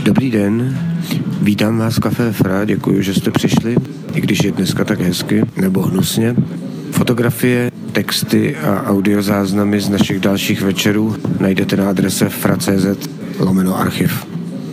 Dobrý den, vítám vás v Café Fra, děkuji, že jste přišli, i když je dneska tak hezky, nebo hnusně. Fotografie, texty a audiozáznamy z našich dalších večerů najdete na adrese fra.cz/archiv.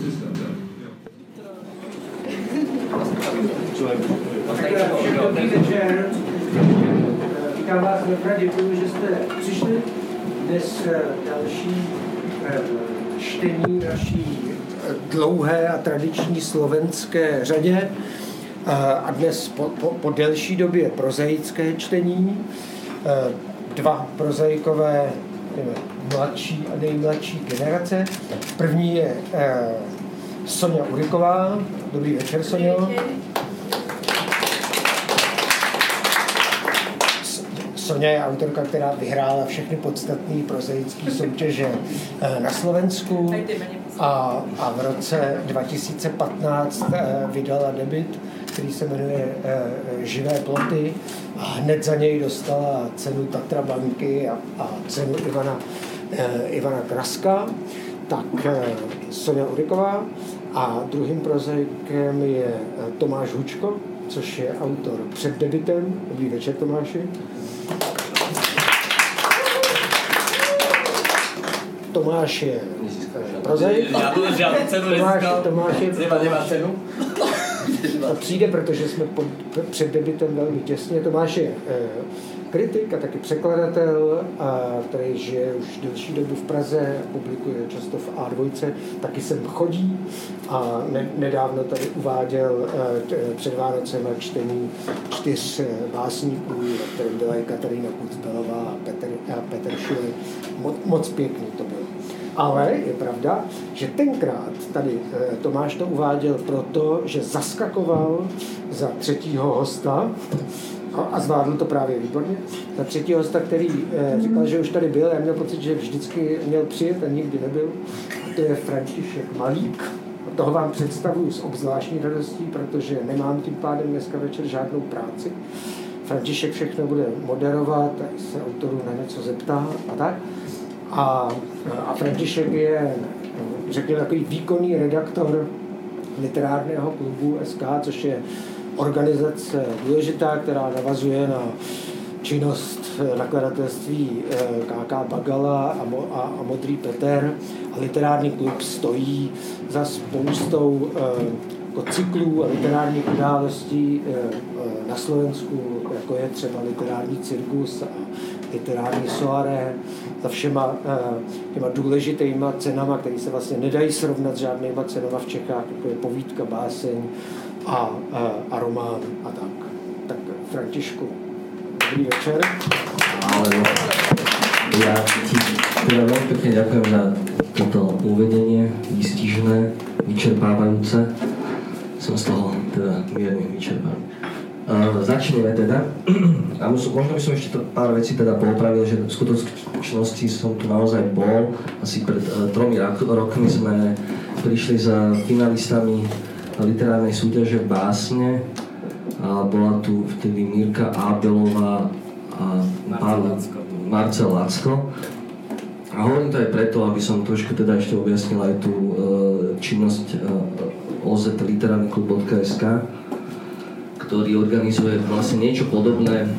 Dobrý večer. Vítám vás ve Fra, děkuji, že jste přišli. Dnes další čtení naší dlouhé a tradiční slovenské řadě a dnes po delší době prozaické čtení. Dva prozaikové mladší a nejmladší generace. První je Soňa Uriková. Dobrý večer, Soňo. Soňa je autorka, která vyhrála všechny podstatné prozaické soutěže na Slovensku a v roce 2015 vydala debut, který se jmenuje Živé ploty a hned za něj dostala cenu Tatra banky a cenu Ivana Kraska. Tak Soňa Uriková a druhým prozaikem je Tomáš Hučko, což je autor před debutem. Dobrý večer, Tomáši. Tomáš je prozaik. Já tu žádnou cenu nezískal. Tomáš je... Nemá cenu? To přijde, protože jsme před debutem velmi těsně. Tomáš je kritik a taky překladatel, který žije už delší dobu v Praze, publikuje často v A2, taky sem chodí a nedávno tady uváděl před Vánocema čtení 4 básníků, kterým byla i Katarína Kucbelová a Petr Šuly. Moc pěkný to bylo. Ale je pravda, že tenkrát tady Tomáš to uváděl proto, že zaskakoval za třetího hosta a zvládl to právě výborně. Za třetího hosta, který říkal, že už tady byl, já měl pocit, že vždycky měl přijet a nikdy nebyl. A to je František Malík. A toho vám představuji s obzvláštní radostí, protože nemám tím pádem dneska večer žádnou práci. František všechno bude moderovat a se autorů na něco zeptá a tak. A František je, řekněme, takový výkonný redaktor literárného klubu SK, což je organizace důležitá, která navazuje na činnost nakladatelství KK Bagala a Modrý Peter. A literární klub stojí za spoustou cyklů a literárních událostí na Slovensku, jako je třeba literární cirkus a literární soirée, za všema těma důležitýma cenama, které se vlastně nedají srovnat s žádnýma cenama v Čechách, jako je povídka, báseň a román a tak. Tak Františku, dobrý večer. Ale ja ti teda veľmi pekne ďakujem za toto uvedenie, výstižné, vyčerpávajúce. Som z toho teda mierne vyčerpaný. Začneme teda. A možno by som ešte pár vecí teda poopravil, že v skutočnosti som tu naozaj bol. Asi pred 3 rokmi sme prišli za finalistami literárnej súťaže v Básne. A bola tu vtedy Mirka Ábelová a Marcel Lacko. A hovorím to aj preto, aby som trošku teda ešte objasnil aj tú činnosť ozliterárnyklub.sk, ktorý organizuje vlastne niečo podobné,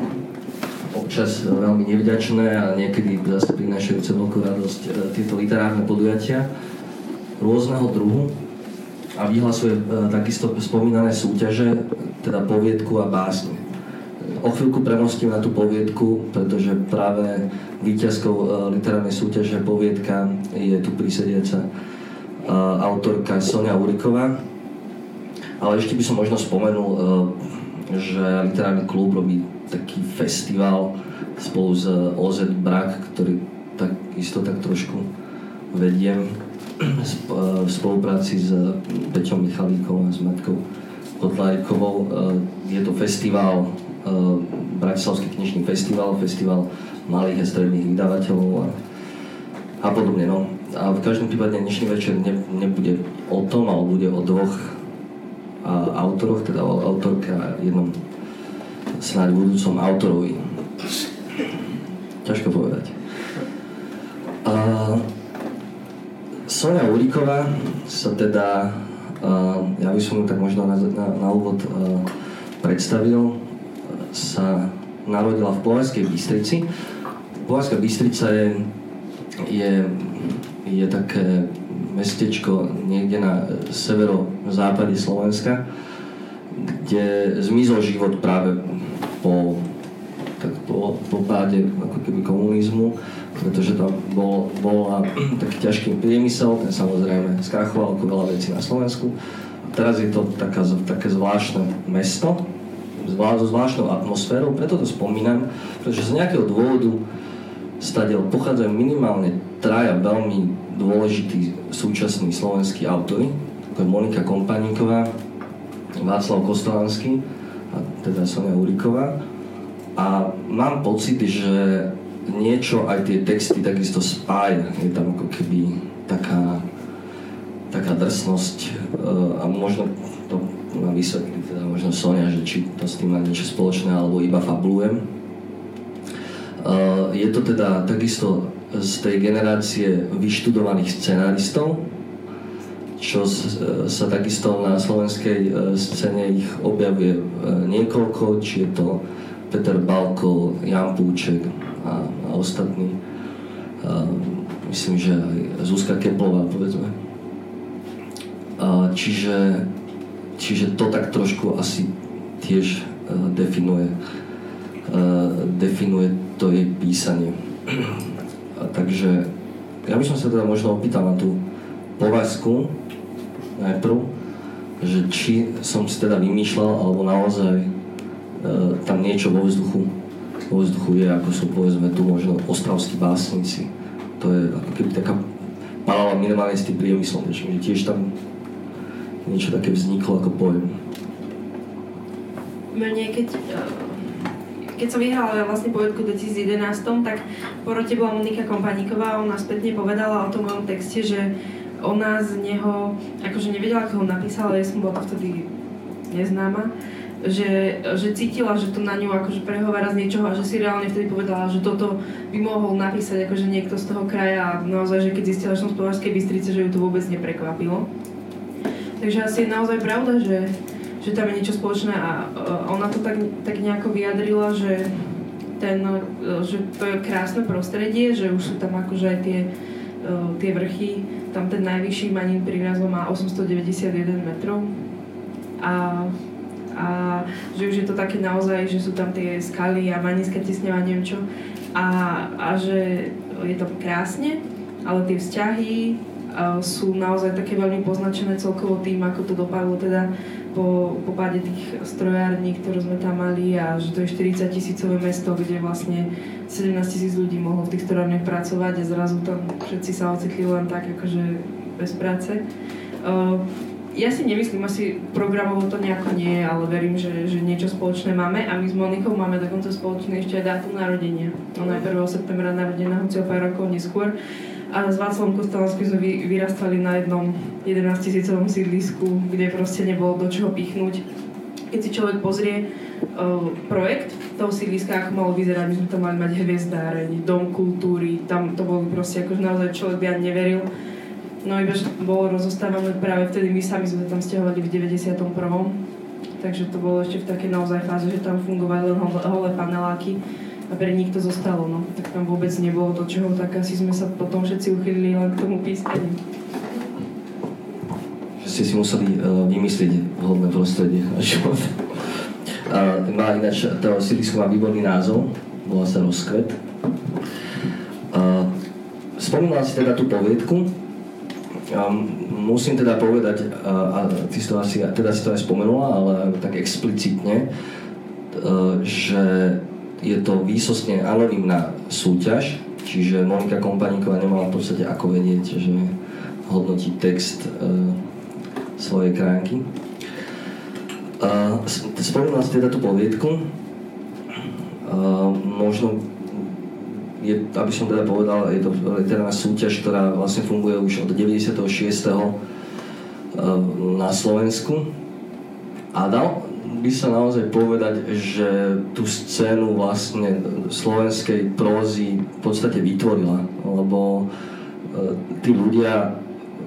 občas veľmi nevďačné a niekedy zase prinášajúce veľkú radosť tieto literárne podujatia rôzneho druhu a vyhlasuje takisto spomínané súťaže, teda poviedku a básne. O chvíľku premostím na tú poviedku, pretože práve víťazkou literárnej súťaže poviedka je tu prisediaca autorka Soňa Uriková. Ale ešte by som možno spomenul, že literárny klub robí taký festival spolu s OZ Brak, ktorý takisto tak trošku vediem v spolupráci s Peťom Michalíkom a s Matkou Kotlárikovou. Je to festival, Bratislavský knižný festival malých a stredných vydavateľov a podobne. No. A v každom prípade dnešný večer nebude o tom, ale bude o 2 autoroch, teda o autorke a jednom snáď budúcom autorovi. Ťažko povedať. Soňa Uríková sa teda, ja by som ju tak možno na úvod predstavil, sa narodila v Považskej Bystrici. Považská Bystrica je také mestečko niekde na severozápade Slovenska, kde zmizol život práve po páde ako keby komunizmu, pretože tam bol taký ťažký priemysel, ten samozrejme skrachoval ako veľa vecí na Slovensku. A teraz je to také zvláštne mesto, so zvláštnou atmosférou, preto to spomínam, pretože z nejakého dôvodu stadiaľ pochádzajú minimálne traja veľmi dôležití súčasní slovenskí autori, ako je Monika Kompaníková, Václav Kostalanský a teda Soňa Uríková. A mám pocit, že niečo aj tie texty takisto spája. Je tam ako keby taká drsnosť a možno to ma vysvetlí teda možno Soňa, že či to s tým má niečo spoločné alebo iba fabulujem. Je to teda takisto z tej generácie vyštudovaných scenáristov, čo sa takisto na slovenskej scéne ich objavuje niekoľko, či je to Peter Balko, Jan Púček a ostatní. Myslím, že aj Zuzka Keplová, povedzme. Čiže to tak trošku asi tiež definuje to jej písanie. Takže ja by som sa teda možno opýtal na tú Považskú najprv, že či som si teda vymýšľal, alebo naozaj tam niečo vo vzduchu je, ako sú povedzme tu možno ostravskí básnici. To je ako keby taká paralela minimálne s tým priemyslom, že tiež tam niečo také vzniklo ako pojem. Mne keď som vyhrala vlastne poviedku v 2011, tak po rote bola Monika Kompaníková, ona spätne povedala o tom mojom texte, že ona z neho, akože nevedela, ako ho napísala, ja som bola to vtedy neznáma, že cítila, že to na ňu akože prehovára z niečoho a že si reálne vtedy povedala, že toto by mohol napísať akože niekto z toho kraja a naozaj, že keď zistila, že som z Považskej Bystrice, že ju to vôbec neprekvapilo. Takže asi je naozaj pravda, že tam je niečo spoločné a ona to tak nejako vyjadrila, že to je krásne prostredie, že už sú tam akože aj tie vrchy, tam ten najvyšší Manín pri názvom má 891 metrov a že už je to také naozaj, že sú tam tie skaly a Maníska tisňava, neviem čo a že je to krásne, ale tie vzťahy sú naozaj také veľmi poznačené celkovo tým, ako to dopadlo teda po páde tých strojární, ktoré sme tam mali a že to je 40 000-ové mesto, kde vlastne 17 000 ľudí mohlo v tých strojárniach pracovať a zrazu tam všetci sa ocitli len tak akože bez práce. Ja si nemyslím, asi programovo to nejako nie je, ale verím, že niečo spoločné máme a my s Monikou máme dokonca spoločné ešte aj dátum narodenia. Ona je 1. septembra narodená, hoci o pár rokov neskôr. A s Václavom Kostalanským sme vyrastali na jednom 11 000-ovom sídlisku, kde proste nebolo do čoho pichnúť. Keď si človek pozrie projekt toho sídliska, ako malo vyzerať, my sme tam mali mať hviezdáreň, dom kultúry, tam to bolo proste akože naozaj človek by ani neveril. No iba, že bolo rozostávané práve vtedy, my sami sme tam sťahovali v 91. Takže to bolo ešte v takej naozaj fáze, že tam fungovali len holé paneláky a pre nich to zostalo, no. Tak tam vôbec nebolo do čoho, tak asi sme sa potom všetci uchylili len k tomu pískaniu. Že ste si museli vymyslieť vhodné prostredie na život. Má ináč, to sídlisko má výborný názov, volá sa Rozkvet. Spomínala si teda tú poviedku. Musím teda povedať, a ty si to aj spomenula, ale tak explicitne, že je to výsostne anonymná súťaž, čiže Monika Kompaníková nemala v podstate ako vedieť, že hodnotí text svojej krajinky. Spomínala si teda tú poviedku. Možno aby som teda povedal, je to literárna súťaž, ktorá vlastne funguje už od 96. Na Slovensku. A dal by sa naozaj povedať, že tú scénu vlastne slovenskej prózy v podstate vytvorila, lebo tí ľudia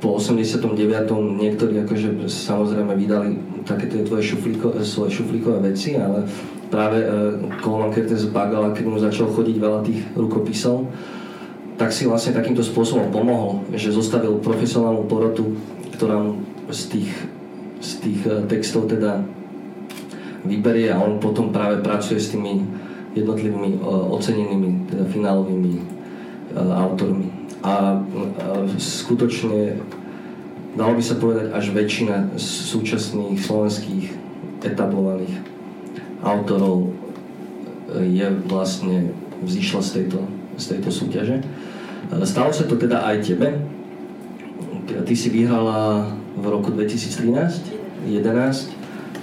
po 89. niektorí akože samozrejme vydali také tie tvoje svoje šuflíkové veci, ale práve Coleman Kertész Bagala, keď mu začal chodiť veľa tých rukopisov, tak si vlastne takýmto spôsobom pomohol, že zostavil profesionálnu porotu, ktorá mu z tých textov teda vyberie a on potom práve pracuje s tými jednotlivými ocenenými, teda finálovými autormi. A skutočne dalo by sa povedať, až väčšina súčasných slovenských etablovaných autorov je vlastne vzýšla z tejto súťaže. Stalo sa to teda aj tebe. Ty si vyhrala v roku 2013, 11.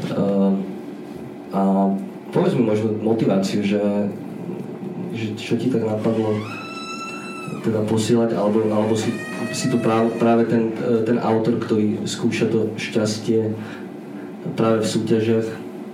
A povedz mi možno motiváciu, že čo ti tak napadlo teda posielať, alebo si tu práve ten autor, ktorý skúša to šťastie práve v súťažiach?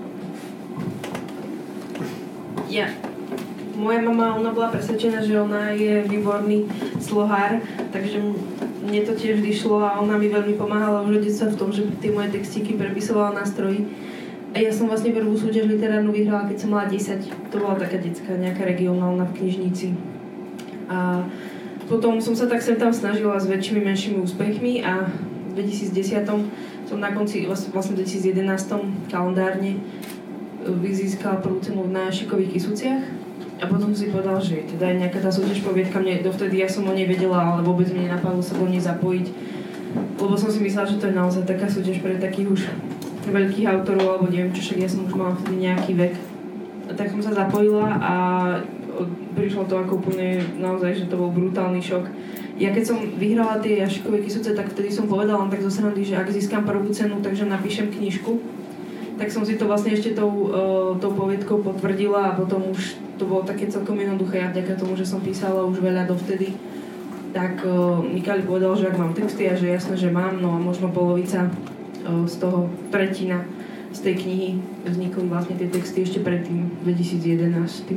Moja mama, ona bola presvedčená, že ona je výborný slohár, takže mne to tiež vyšlo a ona mi veľmi pomáhala už od detstva v tom, že tie moje textíky prepisovala na stroji. A ja som vlastne prvú súťaž literárnu vyhrala, keď som mala 10. To bola taká detská, nejaká regionálna v knižnici. A potom som sa tak sem tam snažila s väčšími, menšími úspechmi a v 2010 som na konci, vlastne v 2011 kalendárne získala prvú cenu na Šikových Kysuciach a potom si povedal, že teda je nejaká tá súťaž poviedka, mne dovtedy ja som o nej vedela, ale vôbec mi nenapadlo sa do nej zapojiť, lebo som si myslela, že to je naozaj taká súťaž pre takých už veľkých autorov, alebo neviem čo, však ja som už mala vtedy nejaký vek. A tak som sa zapojila a prišlo to ako úplne naozaj, že to bol brutálny šok. Ja keď som vyhrala tie Jašikové Kysuce, tak vtedy som povedala len tak zo srandy, že ak získam prvú cenu, takže napíšem knižku. Tak som si to vlastne ešte tou poviedkou potvrdila a potom už to bolo také celkom jednoduché. Ja vďaka tomu, že som písala už veľa dovtedy, tak Mikali povedal, že ak mám texty a že jasné, že mám, no a možno polovica z toho, tretina z tej knihy vznikli vlastne tie texty ešte predtým, 2011.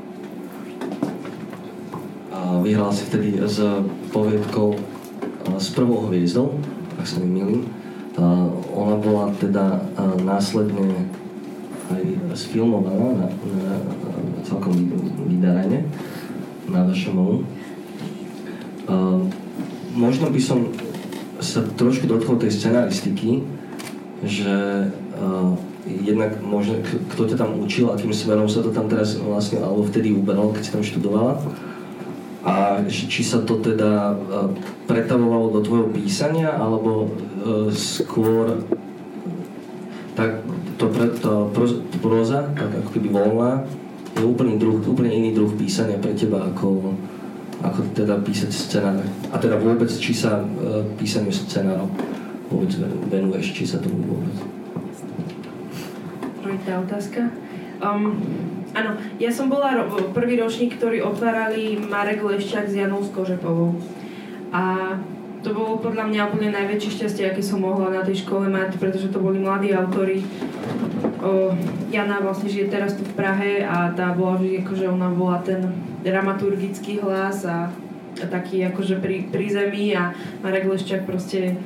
A vyhrala si vtedy s poviedkou S prvou hviezdou, ak sa nemýlim. Ona bola teda následne aj sfilmovaná na celkom vydarane na VŠMU. Možno by som sa trošku dotkol tej scenaristiky, že jednak možno, kto ťa tam učil, akým smerom sa to tam teraz vlastne, alebo vtedy uberalo, keď si tam študovala. A či sa to teda pretavovalo do tvojho písania, alebo skôr tak próza, tak ako keby voľná, je úplne iný druh písania pre teba, ako teda písať scenár. A teda vôbec, či sa písaniu scenárov vôbec venuješ, či sa tomu vôbec. Trojitá otázka. Áno, ja som bola prvý ročník, ktorý otvárali Marek Leščák s Janou Skožepovou. A to bolo podľa mňa úplne najväčšie šťastie, aké som mohla na tej škole mať, pretože to boli mladí autori. Jana vlastne žije teraz tu v Prahe a tá bola vždy, akože ona bola ten dramaturgický hlas a taký akože pri zemi a Marek Leščák proste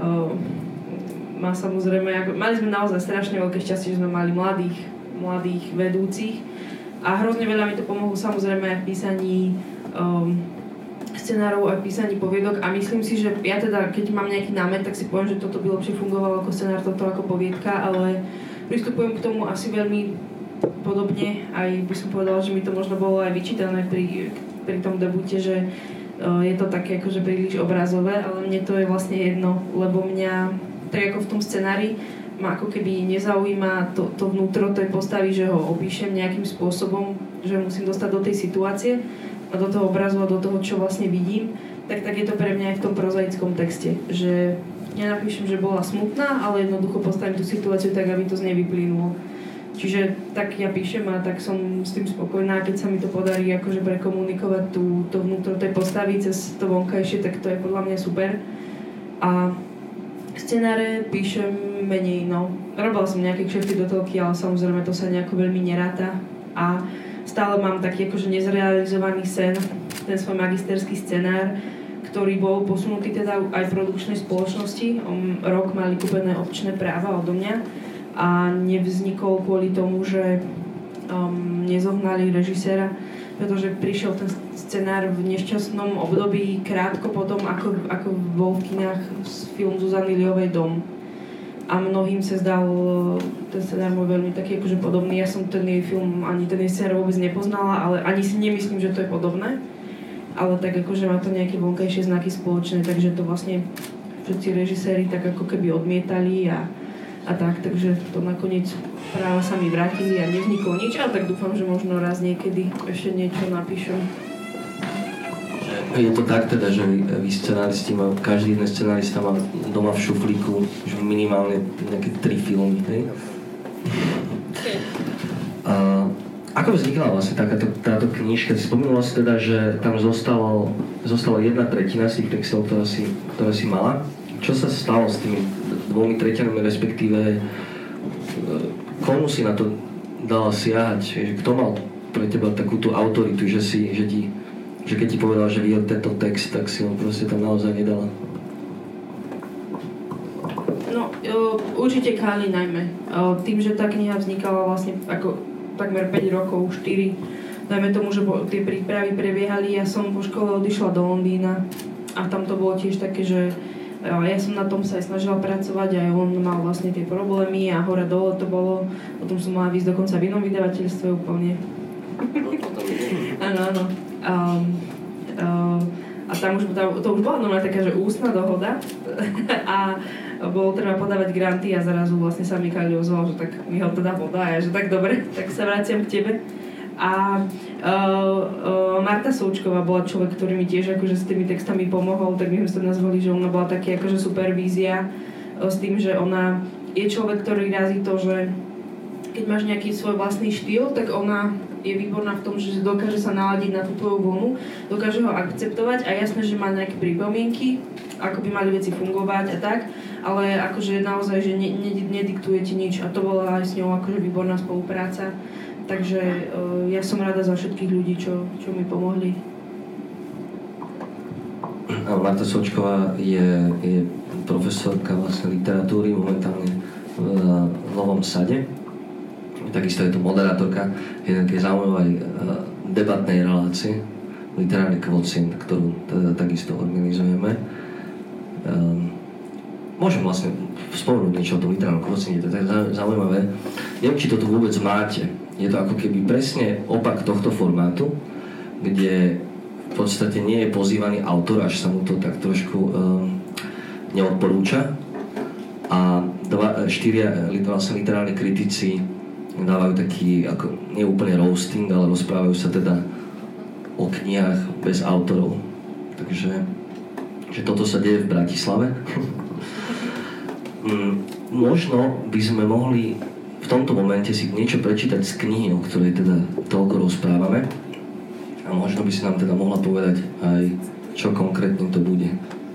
má samozrejme, mali sme naozaj strašne veľké šťastie, že sme mali mladých vedúcich a hrozne veľa mi to pomohlo samozrejme aj v písaní scenárov a v písaní poviedok a myslím si, že ja teda, keď mám nejaký námet, tak si poviem, že toto by lepšie fungovalo ako scenár, toto ako poviedka, ale pristupujem k tomu asi veľmi podobne, aj by som povedala, že mi to možno bolo aj vyčítané pri tom debute, že je to také akože príliš obrazové, ale mne to je vlastne jedno, lebo mňa, tak ako v tom scenári, ma ako keby nezaujíma to vnútro tej postavy, že ho opíšem nejakým spôsobom, že musím dostať do tej situácie a do toho obrazu a do toho, čo vlastne vidím, tak je to pre mňa aj v tom prozaickom texte, že nenapíšem, že bola smutná, ale jednoducho postavím tú situáciu tak, aby to z nej vyplynulo. Čiže tak ja píšem a tak som s tým spokojná, keď sa mi to podarí akože prekomunikovať to vnútro tej postavy cez to vonkajšie, tak to je podľa mňa super. A scenáre píšem menej, no. Robila som nejaké kšefty do telky, ale samozrejme to sa nejako veľmi neráta. A stále mám taký akože nezrealizovaný sen, ten svoj magisterský scenár, ktorý bol posunutý teda aj produkčnej spoločnosti. Rok mali kúpené opčné práva odo mňa a nevznikol kvôli tomu, že nezohnali režiséra, pretože prišiel ten scenár v nešťastnom období krátko potom, ako bol v kinách film Zuzany Liovej Dom. A mnohým sa zdal ten scenár môj veľmi taký akože podobný. Ja som ten jej film, ani ten jej scenár vôbec nepoznala, ale ani si nemyslím, že to je podobné. Ale tak akože má to nejaké vonkajšie znaky spoločné, takže to vlastne všetci režiséri tak ako keby odmietali a tak, takže to nakoniec práva sa mi vrátili a nevzniklo nič, ale tak dúfam, že možno raz niekedy ešte niečo napíšem. Je to tak teda, že vy scenáristi, každý jeden scenárista má doma v šuflíku že minimálne nejaké 3 filmy, hej? Ako vznikla vlastne táto knižka? Si spomínala si teda, že tam zostala 1/3 z tých textov, ktoré si mala. Čo sa stalo s tými 2/3, respektíve komu si na to dala siahať? Kto mal pre teba takú tú autoritu, že keď ti povedal, že videl tento text, tak si ho proste tam naozaj nedala? No, určite Káli najmä. Tým, že tá kniha vznikala vlastne ako takmer 5 rokov, 4. Dajme tomu, že tie prípravy prebiehali, ja som po škole odišla do Londýna a tam to bolo tiež také, že ja som na tom sa aj snažila pracovať, aj on mal vlastne tie problémy a hore dole to bolo. Potom som mala výsť dokonca v inom vydavateľstve úplne. Áno. A tam to už bola normálne taká, že ústna dohoda a bolo treba podávať granty a zrazu vlastne sa mi Káli ozval, že tak mi ho teda podá a že tak dobre, tak sa vraciam k tebe. A Marta Součková bola človek, ktorý mi tiež akože s tými textami pomohol, tak my sme sa nazvali, že ona bola taký akože supervízia s tým, že ona je človek, ktorý razí to, že keď máš nejaký svoj vlastný štýl, tak ona je výborná v tom, že dokáže sa naladiť na tú tvoju vlnu, dokáže ho akceptovať a jasné, že má nejaké pripomienky, ako by mali veci fungovať a tak, ale akože naozaj, že nediktuje ti nič a to bola aj s ňou akože výborná spolupráca. Takže ja som rada za všetkých ľudí, čo mi pomohli. Marta Součková je profesorka vlastne literatúry momentálne v Novom Sade. Takisto je to moderátorka jednej zaujímavej debatnej relácie Literárny kvocient, ktorú teda takisto organizujeme. Môžem vlastne spomenúť niečo o tom literárnom kvociente, to je zaujímavé. Neviem, či to tu vôbec máte. Je to ako keby presne opak tohto formátu, kde v podstate nie je pozývaný autor, až sa mu to tak trošku neodporúča. A 4 vlastne literárni kritici dávajú taký, ako nie úplne roasting, ale rozprávajú sa teda o knihách bez autorov. Takže že toto sa deje v Bratislave. Možno by sme mohli v tomto momente si niečo prečítať z knihy, o ktorej teda toľko rozprávame. A možno by si nám teda mohla povedať aj, čo konkrétne to bude.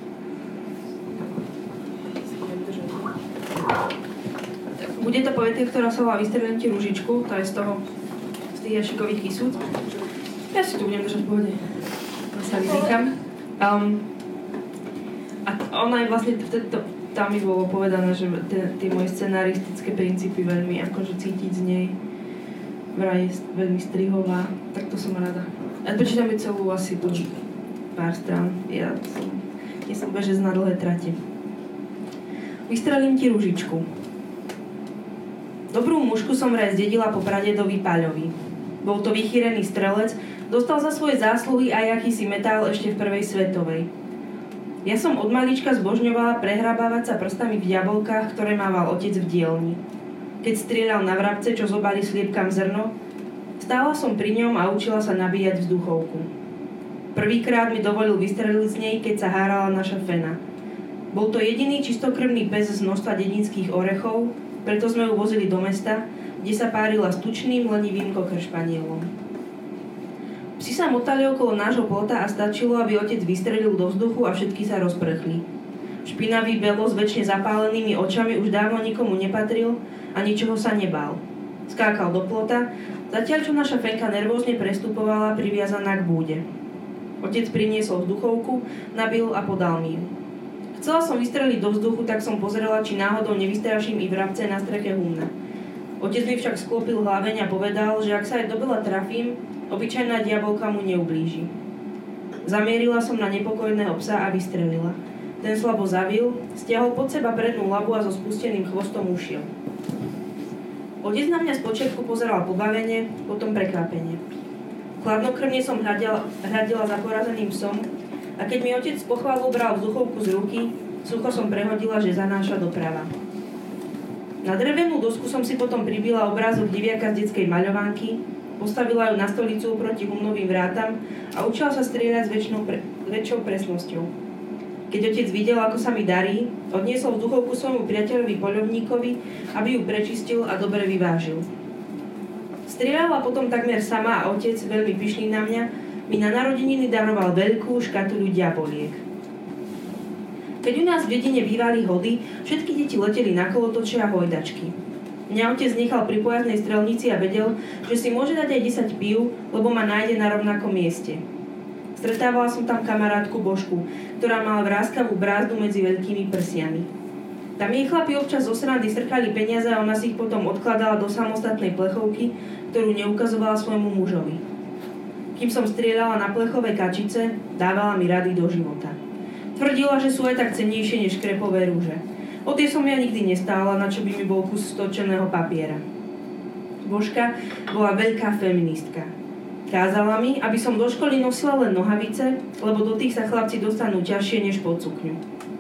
Bude to poetia, ktorá sa volá Vystrelím ti ružičku, to je z tých jašikových kysúc. Ja si tu budem držať v pohode. Ja sa vyzýkam. A ona je vlastne, tam mi bolo povedané, že tie moje scenaristické princípy veľmi akože cítiť z nej. Vraj je veľmi strihová, tak to som rada. A prečítam celú asi tu pár strán. Ja nie som bežec na dlhé trate. Vystrelím ti ružičku. Dobrú mušku som vraj zdedila po pradedovi Paľovi. Bol to vychýrený strelec, dostal za svoje zásluhy aj akýsi metál ešte v prvej svetovej. Ja som od malička zbožňovala prehrabávať sa prstami v jablkách, ktoré mával otec v dielni. Keď strieľal na vrabce, čo zobali sliepkam zrno, stála som pri ňom a učila sa nabíjať vzduchovku. Prvýkrát mi dovolil vystreliť z nej, keď sa hárala naša fena. Bol to jediný čistokrvný pes z množstva dedinských orechov, preto sme ju vozili do mesta, kde sa párila s tučným, lenivým kokršpanielom. Psi sa motali okolo nášho plota a stačilo, aby otec vystrelil do vzduchu a všetky sa rozprchli. Špinavý belo s väčšine zapálenými očami už dávno nikomu nepatril a ničoho sa nebál. Skákal do plota, zatiaľ čo naša fenka nervózne prestupovala priviazaná k búde. Otec priniesol vzduchovku, nabil a podal mi ju. Chcela som vystreliť do vzduchu, tak som pozerala, či náhodou nevystraším i vrabce na streche humna. Otec mi však sklopil hlaveň a povedal, že ak sa aj dobila trafím, obyčajná diabolka mu neublíži. Zamierila som na nepokojného psa a vystrelila. Ten slabo zavil, stiahol pod seba prednú labu a so spusteným chvostom ušiel. Otec na mňa spočiatku pozeral pobavene, potom prekvapenie. Chladnokrvne som hľadila za porazeným psom a keď mi otec s pochválou bral vzduchovku z ruky, sucho som prehodila, že zanáša doprava. Na drevenú dosku som si potom pribila obrázok diviaka z detskej maľovánky, postavila ju na stolicu proti humnovým vrátam a učila sa strieľať s väčšou presnosťou. Keď otec videl, ako sa mi darí, odniesol vzduchovku svojmu priateľovi poľovníkovi, aby ju prečistil a dobre vyvážil. Strieľala potom takmer sama a otec, veľmi pyšný na mňa, mi na narodeniny daroval veľkú škatuľu diaboliek. Keď u nás v dedine bývali hody, všetky deti leteli na kolotoče a hojdačky. Mňa otec nechal pri pojazdnej strelnici a vedel, že si môže dať aj 10 pív, lebo ma nájde na rovnakom mieste. Stretávala som tam kamarátku Božku, ktorá mala vráskavú brázdu medzi veľkými prsiami. Tam jej chlapi občas zo srandy strkali peniaze a ona si ich potom odkladala do samostatnej plechovky, ktorú neukazovala svojmu mužovi. Kým som strieľala na plechové kačice, dávala mi rady do života. Tvrdila, že sú aj tak cennejšie než krepové rúže. O tie som ja nikdy nestála, na čo by mi bol kus stočeného papiera. Božka bola veľká feministka. Kázala mi, aby som do školy nosila len nohavice, lebo do tých sa chlapci dostanú ťažšie než pod sukňu.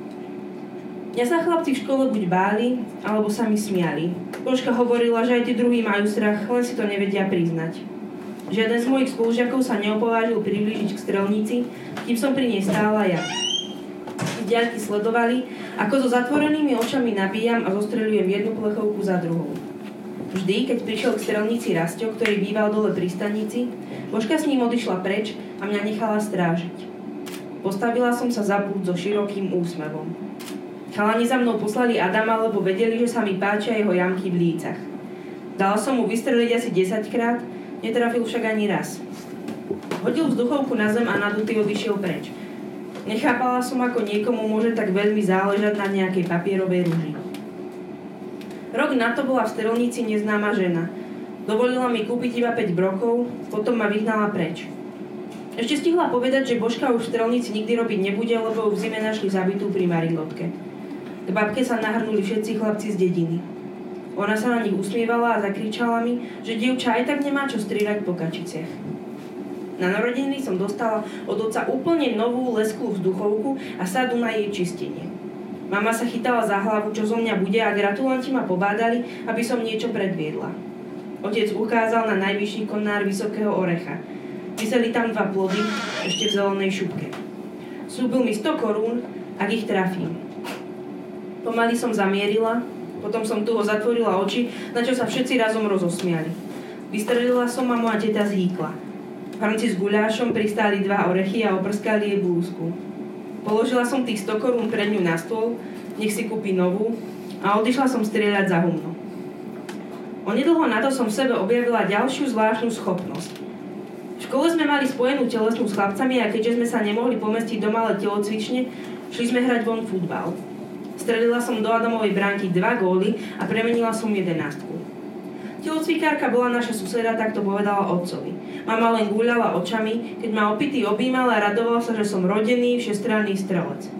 Mňa sa chlapci v škole buď báli, alebo sa mi smiali. Božka hovorila, že aj tí druhí majú strach, len si to nevedia priznať. Žiaden z mojich spolužiakov sa neopovážil priblížiť k strelnici, kým som pri nej stála ja. Z diaľky sledovali, ako so zatvorenými očami nabíjam a zostreľujem jednu plechovku za druhou. Vždy, keď prišiel k strelnici Rasťo, ktorý býval dole pri stanici, Božka s ním odišla preč a mňa nechala strážiť. Postavila som sa za pult so širokým úsmevom. Chalani za mnou poslali Adama, lebo vedeli, že sa mi páčia jeho jamky v lícach. Dala som mu vystreliť asi 10-krát, netrafil však ani raz. Hodil vzduchovku na zem a nadutý odišiel preč. Nechápala som, ako niekomu môže tak veľmi záležať na nejakej papierovej rúži. Rok na to bola v strelnici neznáma žena. Dovolila mi kúpiť iba 5 brokov, potom ma vyhnala preč. Ešte stihla povedať, že Božka už v strelnici nikdy robiť nebude, lebo ju v zime našli zabitú pri Marilotke. K babke sa nahrnuli všetci chlapci z dediny. Ona sa na nich usmievala a zakričala mi, že dievča aj tak nemá čo strieľať po kačiciach. Na narodeniny som dostala od otca úplne novú lesklú vzduchovku a sadu na jej čistenie. Mama sa chytala za hlavu, čo zo mňa bude a gratulanti ma pobádali, aby som niečo predviedla. Otec ukázal na najvyšší konár Vysokého Orecha. Viseli tam 2 plody, ešte v zelenej šupke. Sľúbil mi 100 korún, ak ich trafím. Pomaly som zamierila, potom som tuho zatvorila oči, na čo sa všetci razom rozosmiali. Vystrelila som a moja teta zhýkla. Hrnci s guľášom pristáli 2 orechy a oprskali jej blúzku. Položila som tých 100 korún pred ňu na stôl, nech si kúpi novú a odišla som strieľať za humno. Onedlho na to som v sebe objavila ďalšiu zvláštnu schopnosť. V škole sme mali spojenú telesnú s chlapcami a keďže sme sa nemohli pomestiť do malé telocvične, šli sme hrať von futbal. Strelila som do Adamovej bránky 2 góly a premenila som 11. Telocvikárka bola naša suseda, tak to povedala otcovi. Mama len guľala očami, keď ma opitý objímal a radoval sa, že som rodený, všestranný strelec.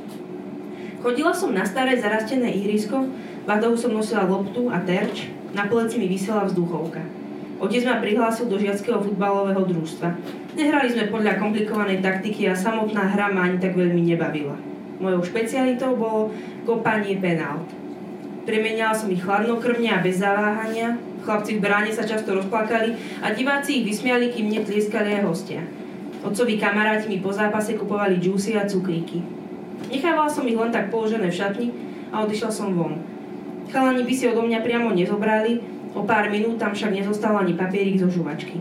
Chodila som na staré zarastené ihrisko, vadou som nosila loptu a terč, na pleci mi visela vzduchovka. Otec ma prihlásil do žiackého futbalového družstva. Nehrali sme podľa komplikovanej taktiky a samotná hra ma ani tak veľmi nebavila. Mojou špecialitou bolo kopanie penalt. Premeniala som ich chladnokrvne a bez zaváhania. Chlapci v bráne sa často rozplakali a diváci ich vysmiali, kým mne tlieskali aj hostia. Otcovi kamaráti mi po zápase kupovali džúsy a cukríky. Nechávala som ich len tak položené v šatni a odišla som von. Chalani by si odo mňa priamo nezobrali, o pár minút tam však nezostal ani papierik zo žuvačky.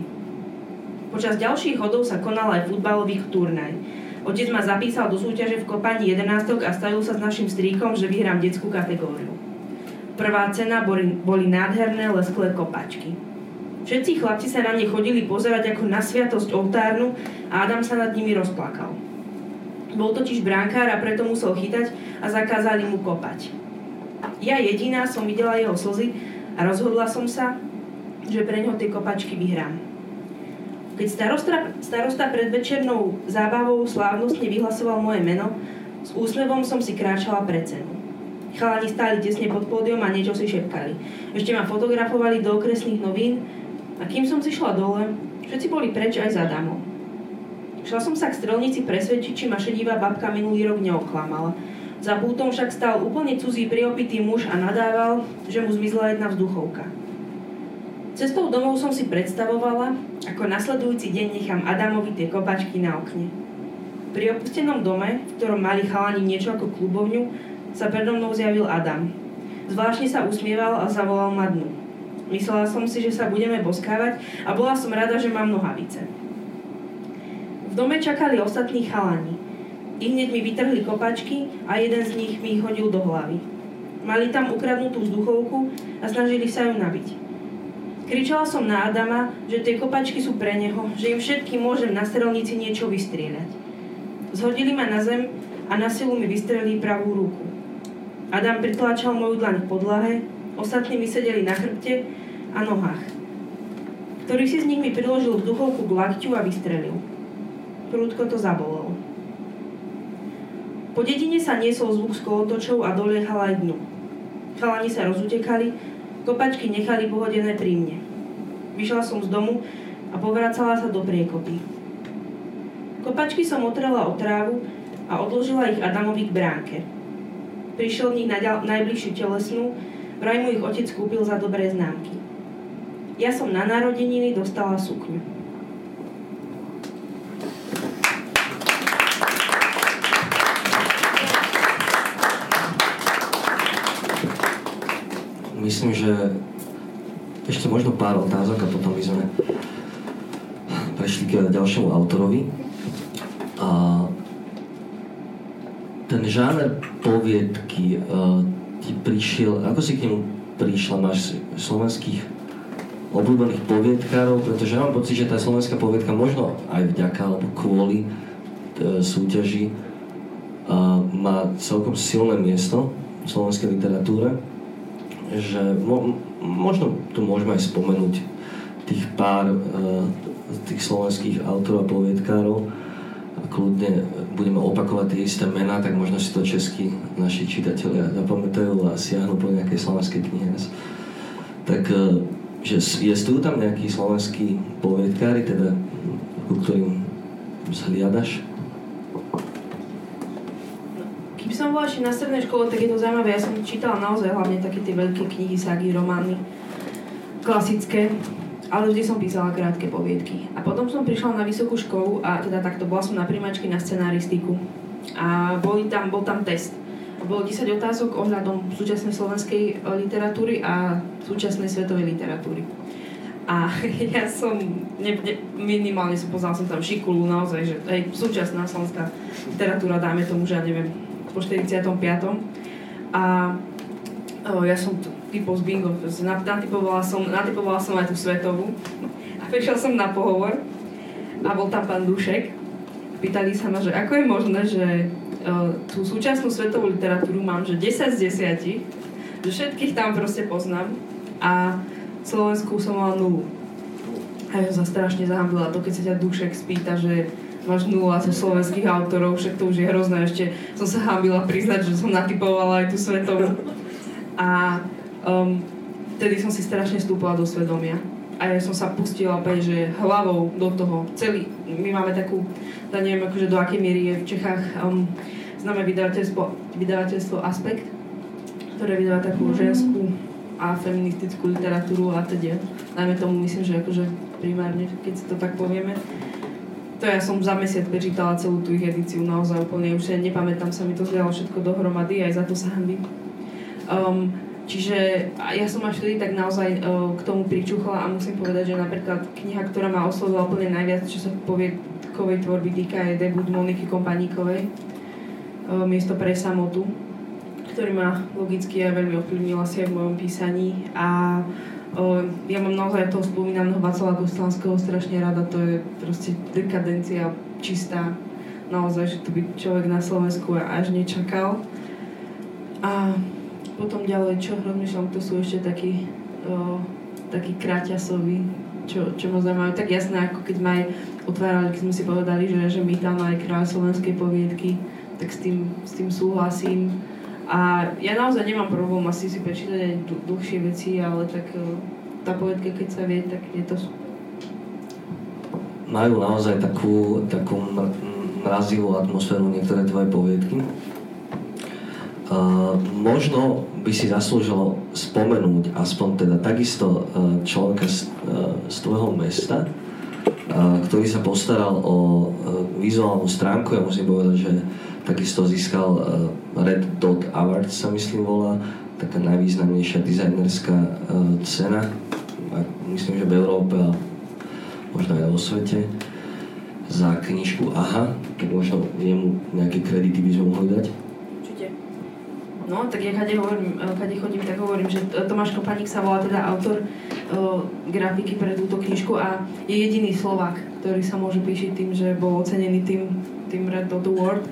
Počas ďalších chodov sa konal aj futbalový turnaj. Otec ma zapísal do súťaže v kopaní 11 a stavil sa s našim strýkom, že vyhrám detskú kategóriu. Prvá cena boli nádherné lesklé kopačky. Všetci chlapci sa na ne chodili pozerať ako na sviatosť oltárnu a Adam sa nad nimi rozplakal. Bol totiž brankár a preto musel chytať a zakázali mu kopať. Ja jediná som videla jeho slzy a rozhodla som sa, že pre ňo tie kopačky vyhrám. Keď starosta pred večernou zábavou slávnostne vyhlasoval moje meno, s úsmevom som si kráčala pred cenu. Chalani stáli tesne pod pódium a niečo si šepkali. Ešte ma fotografovali do okresných novín a kým som si šla dole, všetci boli preč aj za Adamom. Šla som sa k strelnici presvedčiť, či ma šedivá babka minulý rok neoklamala. Za pultom však stál úplne cudzí priopitý muž a nadával, že mu zmizla jedna vzduchovka. Cestou domov som si predstavovala, ako nasledujúci deň nechám Adamovi tie kopačky na okne. Pri opustenom dome, v ktorom mali chalani niečo ako klubovňu, sa predo mnou zjavil Adam. Zvláštne sa usmieval a zavolal ma dnu. Myslela som si, že sa budeme boskávať a bola som rada, že mám nohavice. V dome čakali ostatní chalani. Ihneď mi vytrhli kopačky a jeden z nich mi ich hodil do hlavy. Mali tam ukradnutú vzduchovku a snažili sa ju nabiť. Kričala som na Adama, že tie kopačky sú pre neho, že im všetkým môžem na strelnici niečo vystrieľať. Zhodili ma na zem a na silu mi vystrelili pravú ruku. Adam pritláčal moju dlaň v podlahe, ostatní mi sedeli na chrbte a nohách. Ktorý si z nich mi priložil vzduchovku k lakťu a vystrelil. Prúdko to zabolelo. Po dedine sa niesol zvuk z kolotočov a doliehal aj dnu. Chalani sa rozutekali, kopačky nechali pohodené pri mne. Vyšla som z domu a povracala sa do priekopy. Kopačky som otrela o trávu a odložila ich Adamovi k bránke. Prišiel v nich najbližšiu telesnú, vraj mu ich otec kúpil za dobré známky. Ja som na narodeniny dostala sukňu. Myslím, že ešte možno pár otázok a potom by sme prešli k ďalšiemu autorovi. A ten žáner poviedky ti prišiel, ako si k nemu prišla? Máš slovenských obľúbených poviedkárov? Pretože ja mám pocit, že tá slovenská poviedka možno aj vďaka alebo kvôli súťaži má celkom silné miesto v slovenskej literatúre, že možno tu môžeme aj spomenúť tých pár tých slovenských autorov a poviedkárov a kľudne budeme opakovať tie isté mená, tak možno si to českí naši čitatelia zapamätajú a siahnu po nejakej slovenskej knihe. Tak, že existujú tam nejakí slovenskí poviedkári, teda ku ktorým zhliadaš? Keby som bola ešte na strednej škole, tak je to zaujímavé. Ja som čítala naozaj hlavne také tie veľké knihy, ságy, romány, klasické, ale vždy som písala krátke poviedky. A potom som prišla na vysokú školu a teda takto bola som na prijímačke na scenaristiku. A bol tam test. Bolo 10 otázok ohľadom súčasnej slovenskej literatúry a súčasnej svetovej literatúry. A ja som minimálne poznala som tam Šikulu, naozaj, že aj súčasná slovenská literatúra, dáme tomu, že ja neviem, po 45. A ja som typol z bingo, natypovala som aj tú svetovú a prišla som na pohovor a bol tam pán Dušek. Pýtali sa ma, že ako je možné, že tú súčasnú svetovú literatúru mám, že 10 z 10, že všetkých tam proste poznám a Slovensku som mala 0. A ja som sa strašne zahambila to, keď sa ťa Dušek spýta, že máš 0 zo slovenských autorov, však to už je hrozné, ešte som sa hambila priznať, že som natypovala aj tú svetovú. A vtedy som si strašne vstúpila do svedomia. A ja som sa pustila opäť, že hlavou do toho. My máme takú, ja neviem akože do akej miery je v Čechách známe vydavateľstvo Aspekt, ktoré vydáva takú ženskú a feministickú literatúru a teda. Najmä tomu myslím, že akože primárne, keď si to tak povieme. To ja som za mesiac prečítala celú tú ich edíciu, naozaj úplne, už nepamätám sa, mi to zlialo všetko dohromady, aj za to sa hanbím. Čiže ja som až vtedy tak naozaj k tomu pričuchla a musím povedať, že napríklad kniha, ktorá ma oslovila úplne najviac, čo sa poviedkovej tvorby týka, je debut Moniky Kompaníkovej, Miesto pre samotu, ktorý ma logicky aj veľmi ovplyvnil asi aj v mojom písaní a Ja mám naozaj toho spomínaného Václava Kostelského strašne rada, to je proste dekadencia čistá. Naozaj, že to by človek na Slovensku až nečakal. A potom ďalej, čo rozmýšľam, to sú ešte takí kráťasoví, čo ma zaujímajú. Tak jasné, ako keď ma aj otvárali, keď sme si povedali, že my tam aj kráľ slovenskej poviedky, tak s tým súhlasím. A ja naozaj nemám problém asi si prečítať aj dlhšie veci, ale tak tá poviedka, keď sa vie, tak je to... Majú naozaj takú mrazivú atmosféru niektoré tvoje poviedky. Možno by si zaslúžilo spomenúť aspoň teda takisto človeka z tvojho mesta, ktorý sa postaral o vizuálnu stránku. Ja musím povedať, že takisto získal Red Dot Awards, sa myslím volá, taká najvýznamnejšia dizajnerská cena, myslím, že v Európe a možno aj vo svete, za knižku Aha, tak možno jemu nejaké kredity by sme mohli dať. Určite. No, tak ja kade chodím, tak hovorím, že Tomáš Kopaník sa volá teda autor grafiky pre túto knižku a je jediný Slovák, ktorý sa môže píšiť tým, že bol ocenený tým Red Dot Award.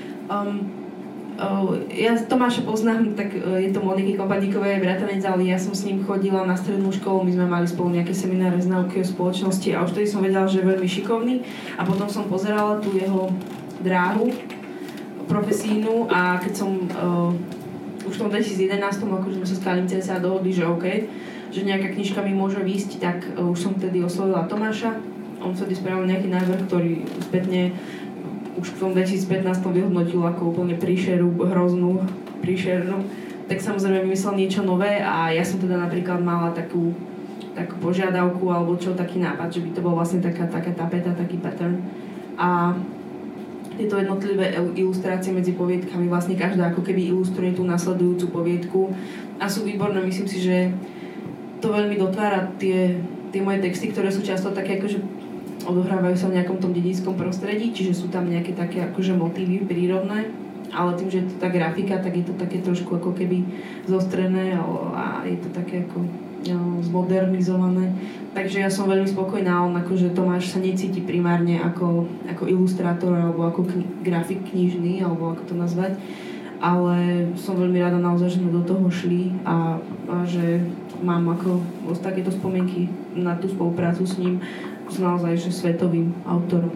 Ja Tomáša poznám, tak je to Moniky Kopaníkovej bratranec, ale ja som s ním chodila na strednú školu, my sme mali spolu nejaké semináre z náuky o spoločnosti a už vtedy som vedela, že je veľmi šikovný a potom som pozerala tú jeho dráhu profesijnú a keď som už v tom 2011, akože sme sa s Kalim CSA dohodli, že OK, že nejaká knižka mi môže výjsť, tak už som vtedy oslovila Tomáša. On vtedy spravil nejaký návrh, ktorý spätne už v tom 2015 vyhodnotil ako úplne hroznú príšernú. Tak samozrejme vymyslel niečo nové a ja som teda napríklad mala takú požiadavku alebo taký nápad, že by to bol vlastne taká tapeta, taký pattern. A tieto jednotlivé ilustrácie medzi poviedkami, vlastne každá ako keby ilustruje tú nasledujúcu poviedku a sú výborné. Myslím si, že to veľmi dotvára tie moje texty, ktoré sú často také akože odohrávajú sa v nejakom tom dedickom prostredí, čiže sú tam nejaké také akože motívy prírodné, ale tým, že je to tá grafika, tak je to také trošku ako keby zostrené a je to také ako zmodernizované. Takže ja som veľmi spokojná, on akože Tomáš sa necíti primárne ako ilustrátor alebo ako grafik knižný, alebo ako to nazvať, ale som veľmi rada naozaj, že sme do toho šli a že mám ako takéto spomienky na tú spoluprácu s ním, s naozaj že svetovým autorom.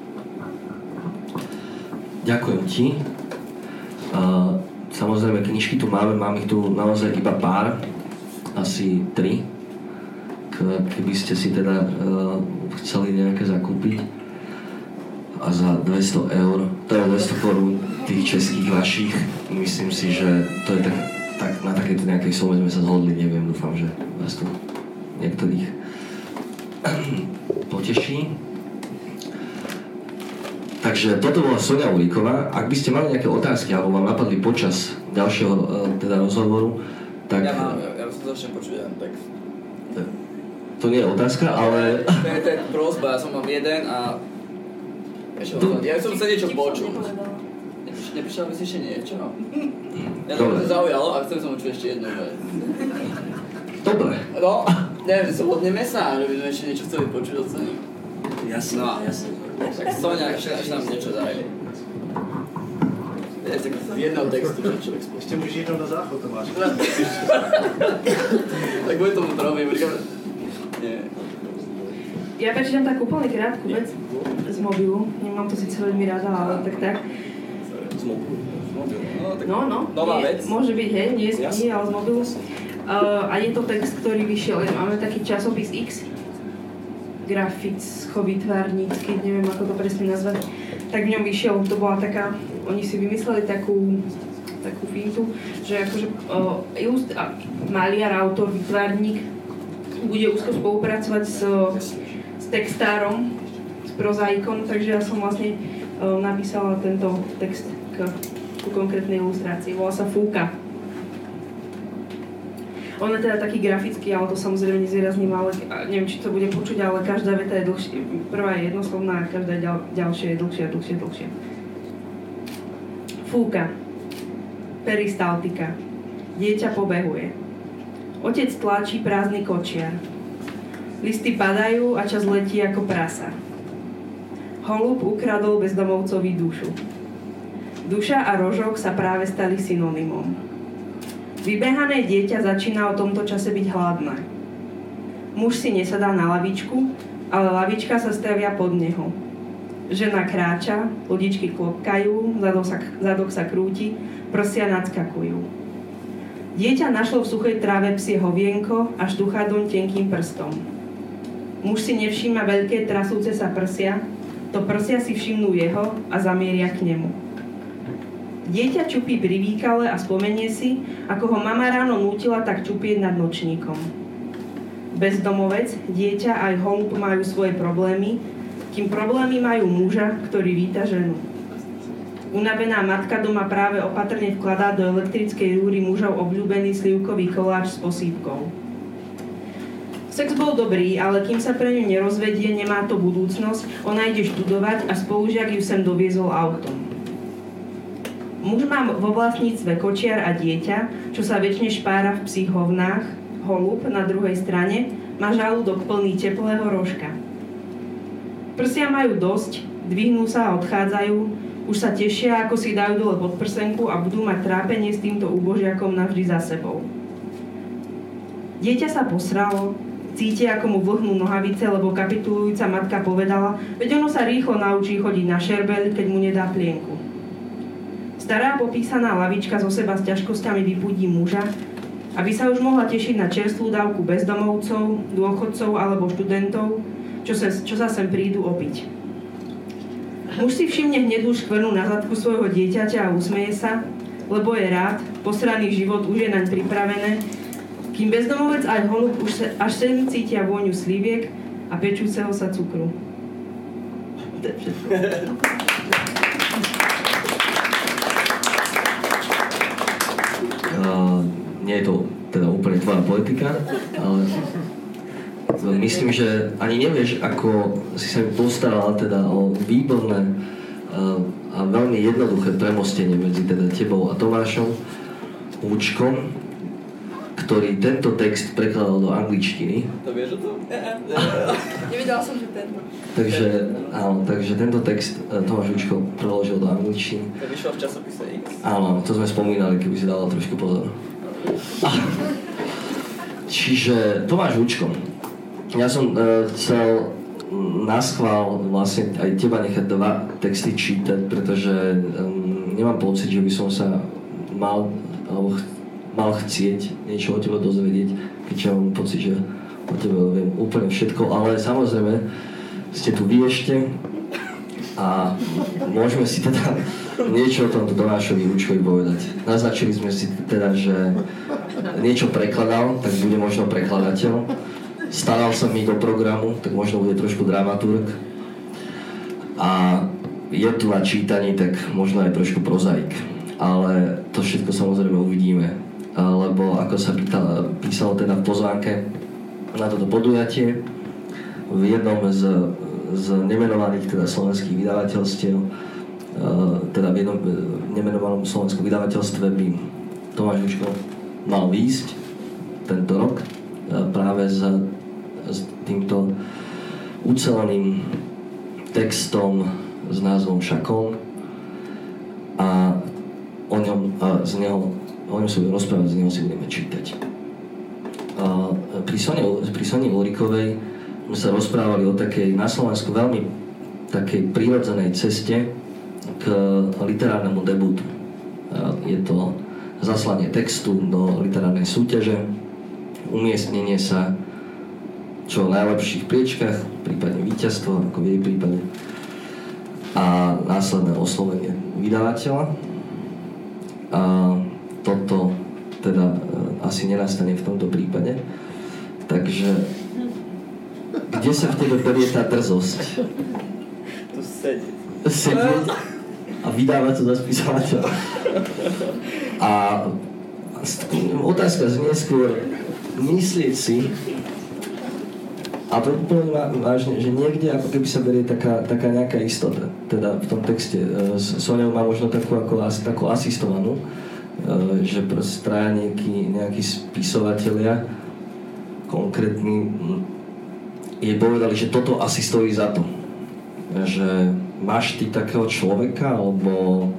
Ďakujem ti. Samozrejme, knižky tu mám ich tu naozaj iba pár, asi 3. Keby ste si teda chceli nejaké zakúpiť a za 200 eur, to je 200 korún tých českých vašich, myslím si, že to je tak na takéto nejakej sume sme sa zhodli, neviem, dúfam, že vás tu niektorých poteší. Takže toto bola Soňa Uhlíková. Ak by ste mali nejaké otázky alebo vám napadli počas ďalšieho teda rozhovoru, tak... Ja som začne počuť jeden text. To nie je otázka, ale... To je prosba, ja som mám jeden a... Ja som sa niečo počul. Nepíšel by si ešte niečo? Ja to ma zaujalo a chcem som počuť ešte jednu vec. Dobre. No, neviem, zhodneme sa, že by sme ešte niečo chceli počuť od Soni. Jasne, no, jasne. Tak Soňa, ešte nám niečo daj. Z jedného textu, čo človek spôsobí. Ešte môžeš jednou na záchod, to máš. Tak bude tomu trobím, nie. Ja prečítam takú úplne krátku vec z mobilu. Nemám to síce veľmi rada, ale tak. Z mobilu? No. Nová vec? Môže byť, hej, nie z knihy, ale z mobilu. A je to text, ktorý vyšiel. Máme taký časopis X, graficko-výtvarnícky, neviem ako to presne nazvať. Tak v ňom vyšiel, to bola taká, oni si vymysleli takú fintu, že akože maliar, autor, výtvarník bude úzko spolupracovať s textárom, s prozaikom, takže ja som vlastne napísala tento text ku konkrétnej ilustrácii. Volá sa Fúka. On je teda taký grafický, ale to samozrejme nezvýrazním, ale neviem, či to bude počuť, ale každá veta je dlhšia. Prvá je jednoslovná a každá ďalšia je dlhšia. Fúka. Peristaltika. Dieťa pobehuje. Otec tlačí prázdny kočiar. Listy padajú a čas letí ako prasa. Holub ukradol bezdomovcovi dušu. Duša a rožok sa práve stali synonymom. Vybehané dieťa začína o tomto čase byť hladné. Muž si nesadá na lavičku, ale lavička sa stavia pod neho. Žena kráča, lodičky klopkajú, zadok sa krúti, prsia nadskakujú. Dieťa našlo v suchej tráve psie hovienko a štuchá doň tenkým prstom. Muž si nevšíma veľké trasúce sa prsia, to prsia si všimnú jeho a zamieria k nemu. Dieťa čupí pri výkale a spomenie si, ako ho mama ráno nútila tak čupieť nad nočníkom. Bezdomovec, dieťa aj holub majú svoje problémy, kým problémy majú muža, ktorý víta ženu. Unavená matka doma práve opatrne vkladá do elektrickej rúry mužov obľúbený slivkový koláč s posýpkou. Sex bol dobrý, ale kým sa pre ňu nerozvedie, nemá to budúcnosť, ona ide študovať a spolužiak ju sem doviezol autom. Muž má vo vlastníctve kočiar a dieťa, čo sa väčšine špára v psích hovnách, holub na druhej strane má žalúdok plný teplého rožka. Prsia majú dosť, dvihnú sa a odchádzajú, už sa tešia, ako si dajú dole podprsenku a budú mať trápenie s týmto úbožiakom navždy za sebou. Dieťa sa posralo, cíti, ako mu vlhnú nohavice, lebo kapitulujúca matka povedala, veď ono sa rýchlo naučí chodiť na šerbeľ, keď mu nedá plienku. Stará popísaná lavička zo seba s ťažkosťami vypudí muža, aby sa už mohla tešiť na čerstvú dávku bezdomovcov, dôchodcov alebo študentov, čo sa sem prídu opiť. Muž si všimne hnedú škvrnu na zadku svojho dieťaťa a usmeje sa, lebo je rád, posraný život už je naň pripravené, kým bezdomovec aj holub už až sem cítia vôňu sliviek a pečúceho sa cukru. To je všetko. Nie je to teda úplne tvoja politika, ale myslím, že ani nevieš, ako si sa mi postarala teda o výborné a veľmi jednoduché premostenie medzi teda tebou a Tomášom Vúčkom, ktorý tento text prekladal do angličtiny. To vieš o tom? Nevedela som, že tento. Takže tento text Tomáš Vúčko preložil do angličtiny. To vyšlo v časopise X. Áno, to sme spomínali, keby si dala trošku pozor. Čiže Tomáš Vúčko, ja som chcel naschvál vlastne aj teba nechať dva texty čítať, pretože nemám pocit, že by som sa mal chcieť niečo o tebe dozvedieť, keďže mám pocit, že o tebe viem úplne všetko, ale samozrejme ste tu vy ešte a môžeme si teda niečo o tomto Tomášovi Vúčkovi povedať. Naznačili sme si teda, že niečo prekladal, tak bude možno prekladateľ. Staral sa mi do programu, tak možno bude trošku dramaturg. A je tu na čítaní, tak možno aj trošku prozaik. Ale to všetko samozrejme uvidíme. Lebo ako sa písalo teda v pozvánke na toto podujatie, v jednom z nemenovaných teda slovenských vydavateľstiev, teda v jednom nemenovanom slovenskom vydavateľstve by Tomáš Vúčko mal výjsť tento rok práve s týmto uceleným textom s názvom Šakón a o ňom sa budeme rozprávať, z neho si budeme čítať. Pri Soni Ulrikovej sme sa rozprávali o takej na Slovensku veľmi takej prírodzenej ceste k literárnemu debutu. Je to zaslanie textu do literárnej súťaže, umiestnenie sa čo v najlepších priečkách, prípadne víťazstvo, ako v jej prípade, a následné oslovenie vydavateľa. A toto teda asi nenastane v tomto prípade. Takže kde sa v tebe berie tá drzosť? Tu sedieť. Sedieť a vydávať to za spisovateľa. A otázka znie skôr myslieť si, a to úplne vážne, že niekde ako keby sa berie taká nejaká istota. Teda v tom texte Soňou má možno takú asistovanú že proste traja nejakí spisovatelia konkrétni jej povedali, že toto asi stojí za to. Že máš ty takého človeka, alebo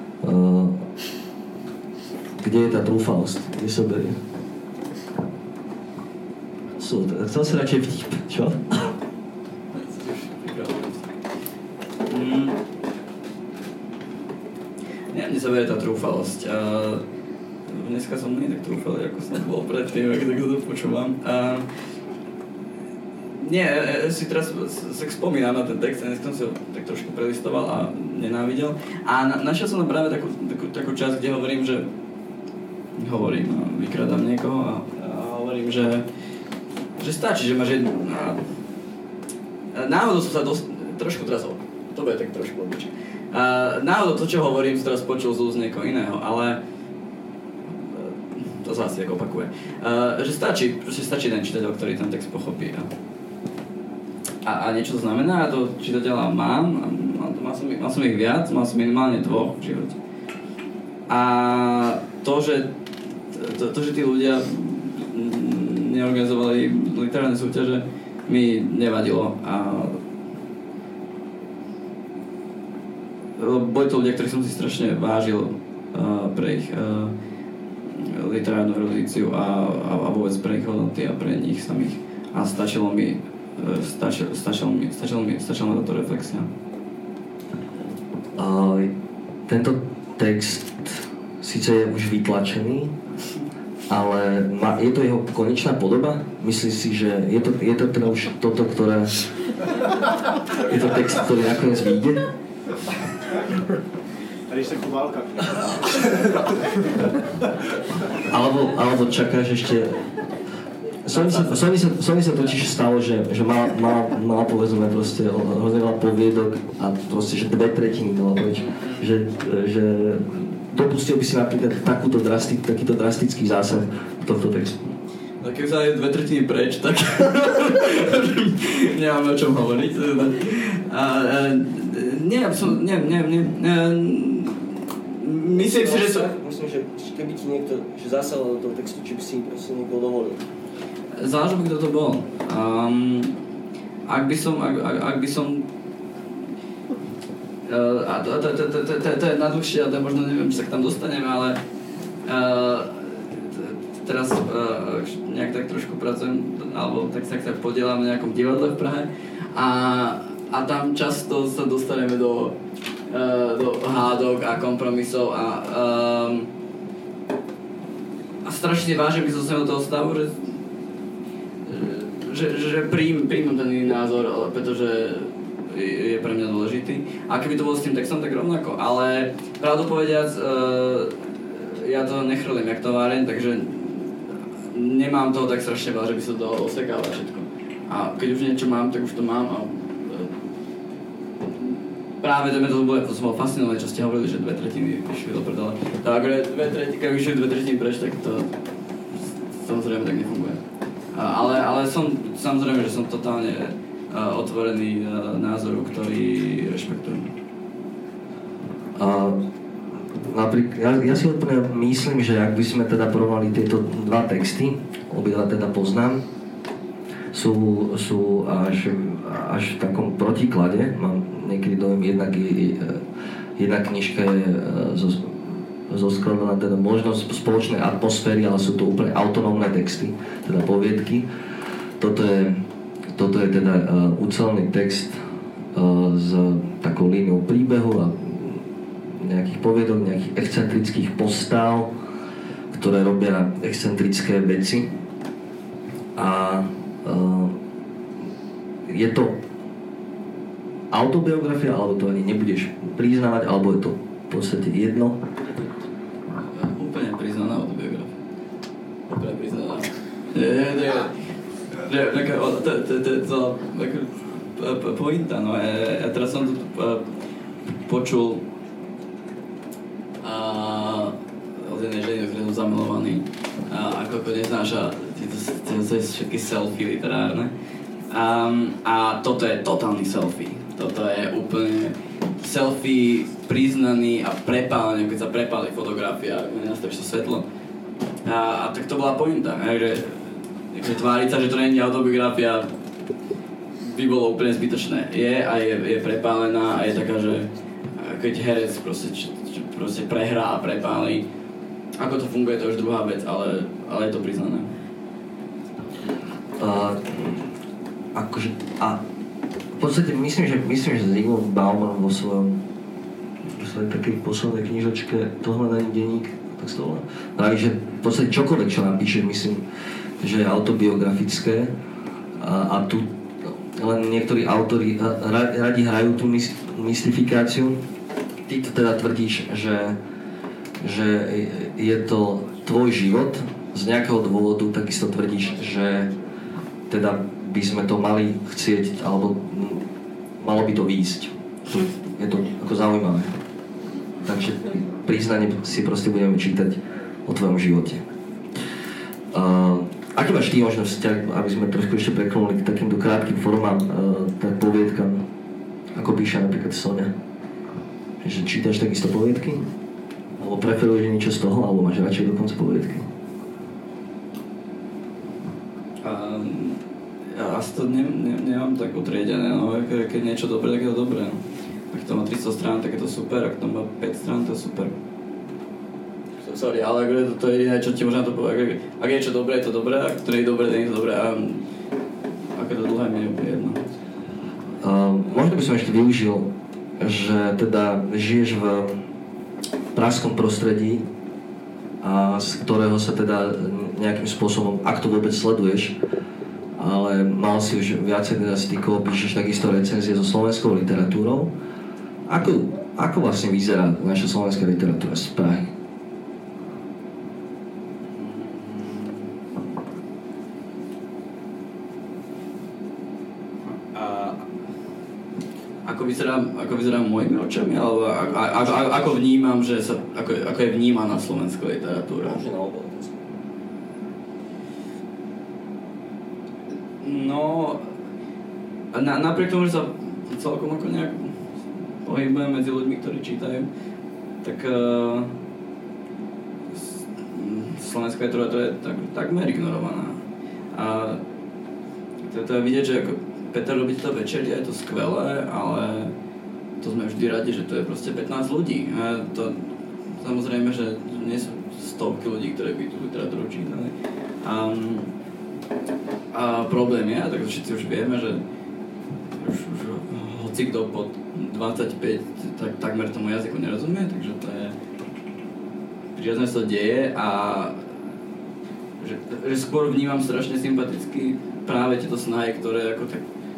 kde je tá trúfalosť? Kde sa berie? Chcel si radšej vtip, čo? Mne sa berie tá trúfalosť. Dneska som nie tak trúfalý, ako som bol predtým, ak tak to počúvam. Nie, si teraz sa spomínam na ten text, dneska som si ho tak trošku prelistoval a nenávidel. A našiel som práve takú časť, kde vykradám niekoho a hovorím, že stačí, že máš jednu. Náhodou som sa trošku teraz, to bude tak trošku odličné. Náhodou to, čo hovorím, som teraz počul z úst niekoho iného, ale to sa asi tak opakuje. Že stačí ten čitateľ, ktorý ten text pochopí. A niečo to znamená, a to čitateľa mám som ich viac, mal som minimálne 2 v živote. A to, že tí ľudia neorganizovali literárne súťaže, mi nevadilo. Boli to ľudia, ktorých som si strašne vážil pre ich literárnu erudíciu a vôbec pre ich hodnoty a pre nich samých. A stačila táto reflexia. Tento text síce je už vytlačený, ale je to jeho konečná podoba? Myslíš si, že je to teda už toto, ktoré... Je to text, ktorý nakoniec vyjde? Tady se kubálka. Alebo čakáš ešte... Som mi sa totiž stalo, že mala povedzme proste hrozne veľa poviedok a proste, že 2/3 dala preč. Že dopustil by si napríklad takýto drastický zásah tohto textu. Tak keď sa je 2/3 preč, tak nemáme o čom hovoriť. Myslím si, že to... Myslím, že keby ti niekto zasahol do toho textu, či by si proste niekto dovolil. Záleží, kto to bol. Ak by som... To je nadlhšie a to možno neviem, či sa k tam dostaneme, ale teraz nejak tak trošku pracujem, alebo tak sa podielam na nejakom divadle v Prahe a tam často sa dostaneme do hádok a kompromisov a strašne vážim, keď som do toho stavu, že príjmem ten iný názor, pretože je pre mňa dôležitý. A keby to bolo s tým textom, tak rovnako. Ale pravdu povediac, ja to nechrlím jak továreň, takže nemám toho tak strašne veľa, že by sa to osekáva všetko. A keď už niečo mám, tak už to mám a práve to som bol fascinovaný, čo ste hovorili, že 2/3 vyšli do prdele. Takže keď vyšli 2/3 preč, tak to samozrejme tak nefunguje. Ale samozrejme, že som totálne otvorený názoru, ktorý rešpektujem. Napríklad, ja si úplne myslím, že ak by sme teda porovnali tieto 2 texty, obidva teda poznám, sú až v takom protiklade. Mám niekedy dojem, jedna knižka je zoskladaná teda možno spoločnej atmosféry, ale sú to úplne autonómne texty, teda poviedky. Toto je teda ucelený text s takou líniou príbehu a nejakých poviedok, nejakých excentrických postáv, ktoré robia excentrické veci. A je to autobiografia, alebo to ani nebudeš priznávať, alebo je to v podstate jedno? Úplne priznaná autobiografia. Úplne priznaná. To pointa, no. Ja teraz som tu počul od jednej ženy, ktoré som zamilovaný, ako neznáša všetky selfie literárne. A toto je totálny selfie. Toto je úplne selfie priznaný a prepálený, keď sa prepáli fotografia, keď nastavíš to svetlo. A tak to bola pointa, že tváriť sa, že to nie je autobiografia, by bolo úplne zbytočné. Je prepálená a je taká, že keď herec proste prehrá a prepálí, ako to funguje, to je už druhá vec, ale je to priznané. V podstate myslím, že Zygmunt Bauman vo svojej takej poslednej knižočke To hľadanie denník, tak sa to volá, praví, že v podstate čokoľvek, čo napíše, myslím, že je autobiografické a tu len niektorí autori radi hrajú tú mystifikáciu. Ty to teda tvrdíš, že je to tvoj život, z nejakého dôvodu takisto tvrdíš, že teda by sme to mali chcieť, alebo malo by to výjsť. Je to ako zaujímavé. Takže priznanie si proste budeme čítať o tvojom živote. Aký máš ty možno vzťah, aby sme trošku ešte preklenuli k takýmto krátkym formám, tak poviedkam, ako píše napríklad Soňa? Že čítaš takisto poviedky? Alebo preferuješ niečo z toho, alebo máš radšej dokonca poviedky? Ja asi to nemám tak utriedené, no, keď niečo dobré, tak je to dobré. No. Ak to má 300 strán, tak je to super, ak to má 5 strán, to je super. Sorry, ale to je jediné, čo ti možno to povedať. Ak je niečo dobré, je to dobré, ak to nie je dobré, to nie je to dobré. A ak je to dlhé, mi je úplne jedno. Možno by som ešte využil, že teda žiješ v pražskom prostredí, a z ktorého sa teda nejakým spôsobom, ak to vôbec sleduješ, ale mal si už viacej teda stykov, píšeš takisto recenzie so slovenskou literatúrou. Ako vlastne vyzerá naša slovenská literatúra z Prahy? Ako vyzerá mojimi očami, alebo ako vnímam, že ako je vnímaná slovenská literatúra? No, napriek tomu, že sa celkom ako nejak pohybujem medzi ľuďmi, ktorí čítajú, tak slovenská literatúra je takmer ignorovaná. A to je vidieť, že ako Peter robí to večer, je to skvelé, ale to sme vždy radi, že to je proste 15 ľudí. A to samozrejme, že nie sú stovky ľudí, ktorí by tú literatúru čítali. A problém je, a tak všetci už vieme, že už hoci kto pod 25 takmer tomu jazyku nerozumie, takže to je prirodzene sa to deje a že skôr vnímam strašne sympaticky práve tieto snahy, ktoré ako tak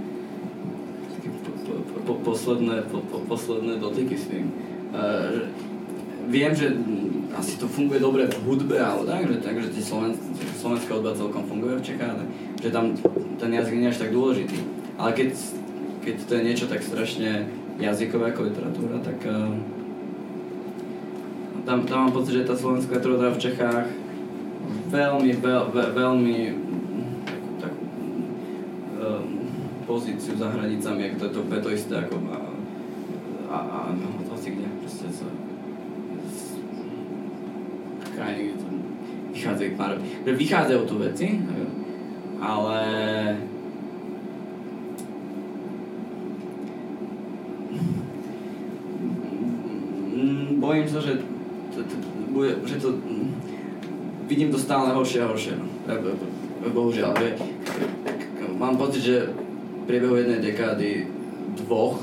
posledné dotyky s tým. Viem, že asi to funguje dobre v hudbe, ale takže slovenská hudba celkom funguje v Čechách, že tam ten jazyk nie je až tak dôležitý. Ale keď to je niečo tak strašne jazykové ako literatúra, tak tam mám pocit, že tá slovenská literatúra v Čechách veľmi pozíciu za hranicami, ako to je to isté ako a hoci kde, proste z krajiny, kde to vychádzajú tu veci, ale bojím sa, že to vidím to stále horšie a horšie, no. Bohužiaľ, mám pocit, že v priebehu jednej dekády, dvoch,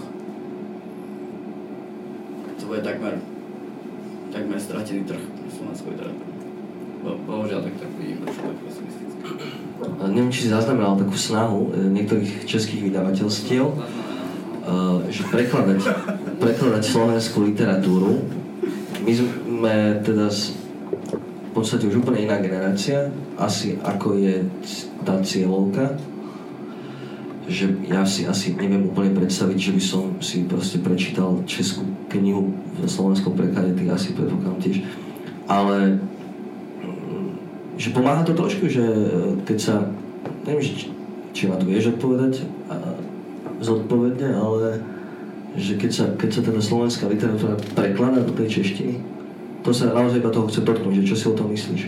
to bude takmer stratený trh slovenskej literatúry. Bohužiaľ, tak vidím trošku pesimisticky. Neviem, či si zaznamenal takú snahu niektorých českých vydavateľstiev, že prekladať slovenskú literatúru. My sme teda v podstate už úplne iná generácia, asi ako je tá cieľovka, že ja si asi neviem úplne predstaviť, že by som si proste prečítal českú knihu v slovenskom preklade, tých asi predpokladám tiež, ale že pomáha to trošku, že keď sa, neviem, či ma to vieš odpovedať zodpovedne, ale že keď sa teda slovenská literatúra prekladá do tej češtiny, to sa naozaj iba toho chce dotknúť, že čo si o tom myslíš?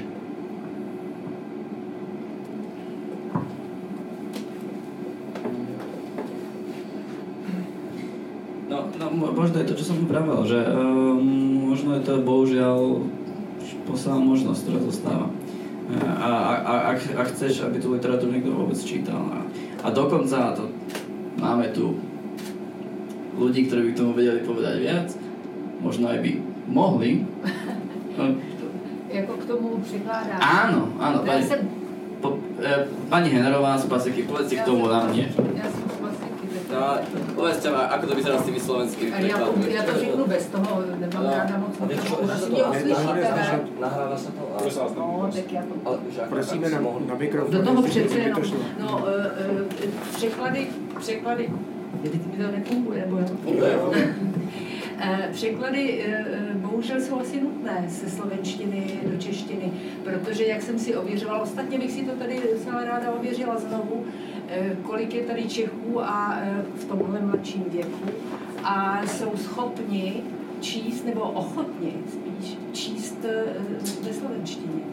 No, možno je to, čo som vravel, že možno je to bohužiaľ posledná možnosť, ktorá zostáva. A ak chceš, aby tú literatúru niekto vôbec čítal. A dokonca to máme tu ľudí, ktorí by k tomu vedeli povedať viac, možno aj by mohli. Jako k tomu přikládáš. Áno, pani Henerová z Pasiky, povedz si k tomu nám nie. Já jsem z Pasiky. Povedzte ma, ako to vyzerá s tými slovenskými prekladmi. Já to řeknu bez toho, nemám ráda moc. Asi mě uslyšíte, ne? Nahrává sa to? No, tak já to... Prosíme na mikrofon. Do toho přece jenom. No, překlady, mi to nefunguje, nebo jak to funguje? Překlady bohužel jsou asi nutné ze slovenštiny do češtiny, protože jak jsem si ověřovala, ostatně bych si to tady docela ráda ověřila znovu, kolik je tady Čechů a v tomhle mladším věku a jsou schopni číst, nebo ochotni spíš číst ve slovenštině.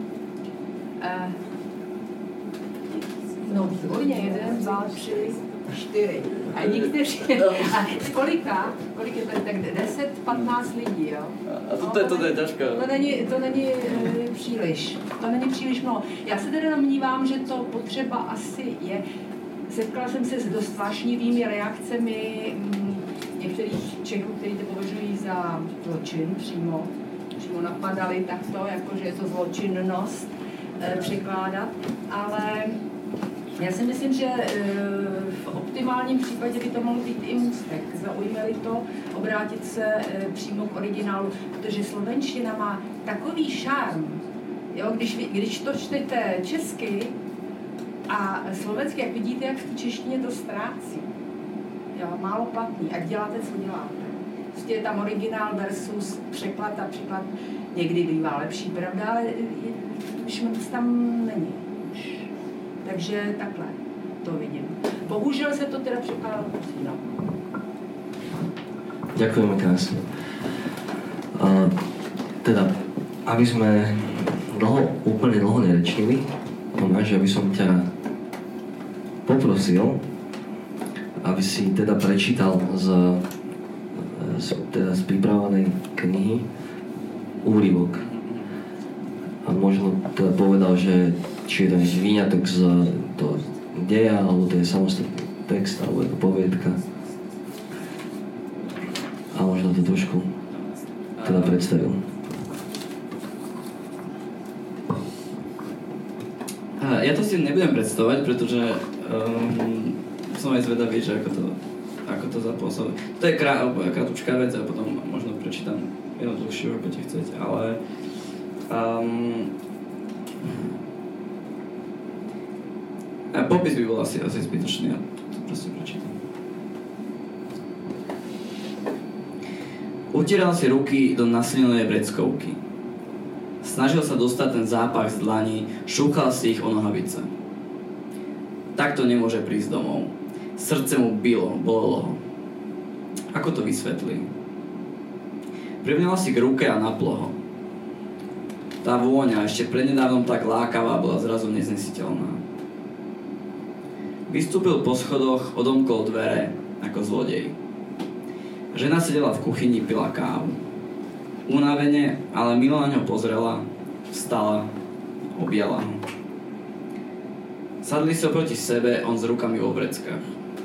No výborně, 1, 2, 3, 4. A někteří, a kolika je tady tak 10, 15 lidí, jo? A to je ťažké. To není příliš. To není příliš mnoho. Já se teda domnívám, že to potřeba asi je. Setkala jsem se s dost vášnivými reakcemi některých Čechů, kteří to považují za zločin přímo napadali takto, jakože je to zločinnost překládat, ale já si myslím, že v optimálním případě by to mohl být i můstek. Zaujme-li to, obrátit se přímo k originálu, protože slovenština má takový šarm. Jo, když to čtete česky a slovensky, jak vidíte, jak v češtině to ztrácí. Jo, málo platný, ať děláte, co děláte. Prostě je tam originál versus překlad a překlad někdy bývá lepší, pravda, ale už moc tam není. Takže takhle to vidím. Bohužel se to teda překládá no. Ďakujeme krásne. Teda, aby sme úplne dlho nerečnili, Tomáš, aby som ťa poprosil, aby si teda prečítal z pripravenej knihy úryvok. A možno teda povedal, že či je to nejaký výňatok z toho deja, alebo to je samostatný text, alebo je to poviedka. A možno to trošku teda predstavil. Ja to si nebudem predstavovať, pretože som aj zvedavý, že ako to zapôsobí. To je krátučká vec a potom možno prečítam jednu dlhšiu, ako ti chcete, ale popis by bol asi zbytočný, ja to proste prečítam. Utieral si ruky do naslinenej vreckovky. Snažil sa dostať ten zápach z dlaní, šúchal si ich o nohavice. Takto nemôže prísť domov. Srdce mu bolelo ho. Ako to vysvetlí? Privňal si k ruke a naplo ho. Tá vôňa, ešte prednedávnom tak lákavá, bola zrazu neznesiteľná. Vystúpil po schodoch, odomkol dvere ako zlodej. Žena sedela v kuchyni, pila kávu. Unavene, ale milo na ňo pozrela, vstala, objala ho. Sadli sa proti sebe, on s rukami vo vreckách.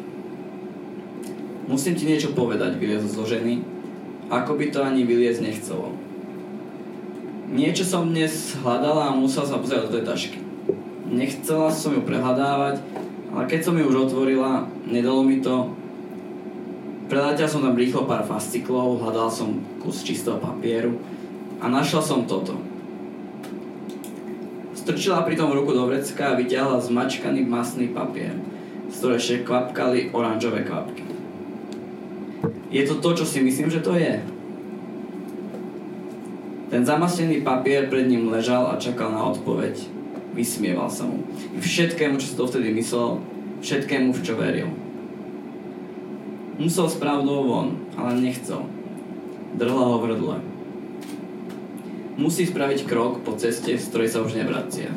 Musím ti niečo povedať, vyliezol zo ženy, ako by to ani vyliezť nechcelo. Niečo som dnes hľadala a musel sa pozerať do tej tašky. Nechcela som ju prehľadávať, ale keď som ju už otvorila, nedalo mi to. Preletel som tam rýchlo pár fasciklov, hľadal som kus čistého papieru a našla som toto. Strčila pri tom ruku do vrecka a vyťahla zmačkaný masný papier, z ktorého ešte kvapkali oranžové kvapky. Je to to, čo si myslím, že to je? Ten zamasnený papier pred ním ležal a čakal na odpoveď. Vysmieval sa mu. I všetkému, čo si to vtedy myslel, všetkému, v čo veril. Musel s pravdou von, ale nechcel. Drhla ho v hrdle. Musí spraviť krok po ceste, z ktorej sa už nevracia.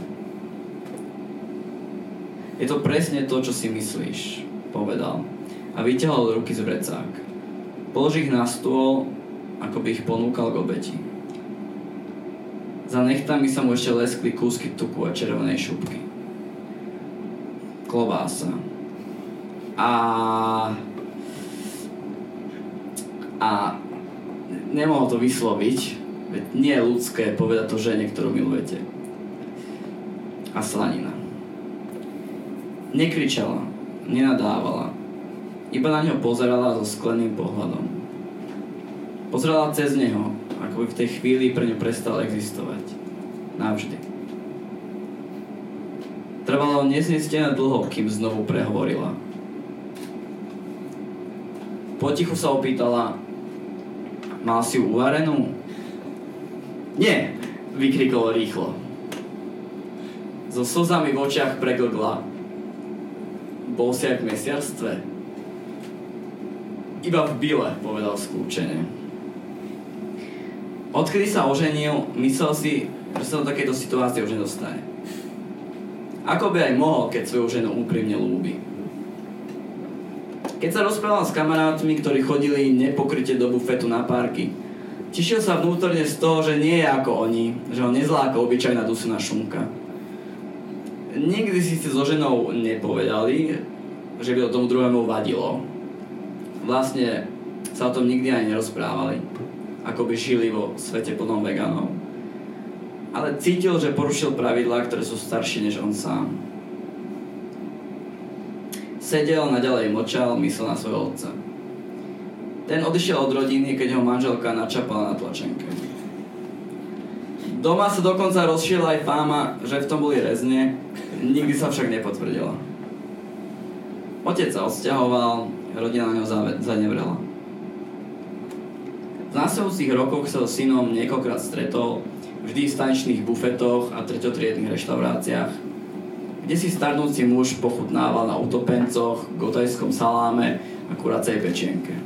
Je to presne to, čo si myslíš, povedal. A vyťahol ruky z vrecák. Položil ich na stôl, ako by ich ponúkal k obeti. Za nechtami sa mu ešte leskli kúsky tuku a červenej šupky. Klobása. A nemohol to vysloviť, veď nie je ľudské povedať to žene, ktorú milujete. A slanina. Nekričala, nenadávala, iba na ňo pozerala so skleným pohľadom. Pozerala cez neho, ako by v tej chvíli pre ňu prestal existovať. Navždy. Trvalo neznestene dlho, kým znovu prehovorila. Potichu sa opýtala: mal si ju uvarenú? Nie, vykrikol rýchlo. So slzami v očiach preglgla. Bol si aj v mesiarstve? Iba v byle, povedal skľúčene. Odkedy sa oženil, myslel si, že sa do takejto situácie už nedostane. Ako by aj mohol, keď svoju ženu úprimne ľúbi. Keď sa rozprával s kamarátmi, ktorí chodili nepokryte do bufetu na párky, tešil sa vnútorne z toho, že nie je ako oni, že ho nezláka obyčajná dusená šunka. Nikdy si so ženou nepovedali, že by to tomu druhému vadilo. Vlastne sa o tom nikdy aj nerozprávali, ako by žili vo svete plnom veganov. Ale cítil, že porušil pravidlá, ktoré sú staršie než on sám. Sedel, naďalej mlčal, myslel na svojho otca. Ten odišiel od rodiny, keď ho manželka načapala na tlačenke. Doma sa dokonca rozšírila aj fáma, že v tom boli rezne, nikdy sa však nepotvrdila. Otec sa odsťahoval, rodina na ňo zanevrela. V následujúcich rokoch sa so synom niekoľkokrát stretol, vždy v staničných bufetoch a treťotriednych reštauráciách, kde si starnúci muž pochutnával na utopencoch, gotajskom saláme a kuracej pečienke.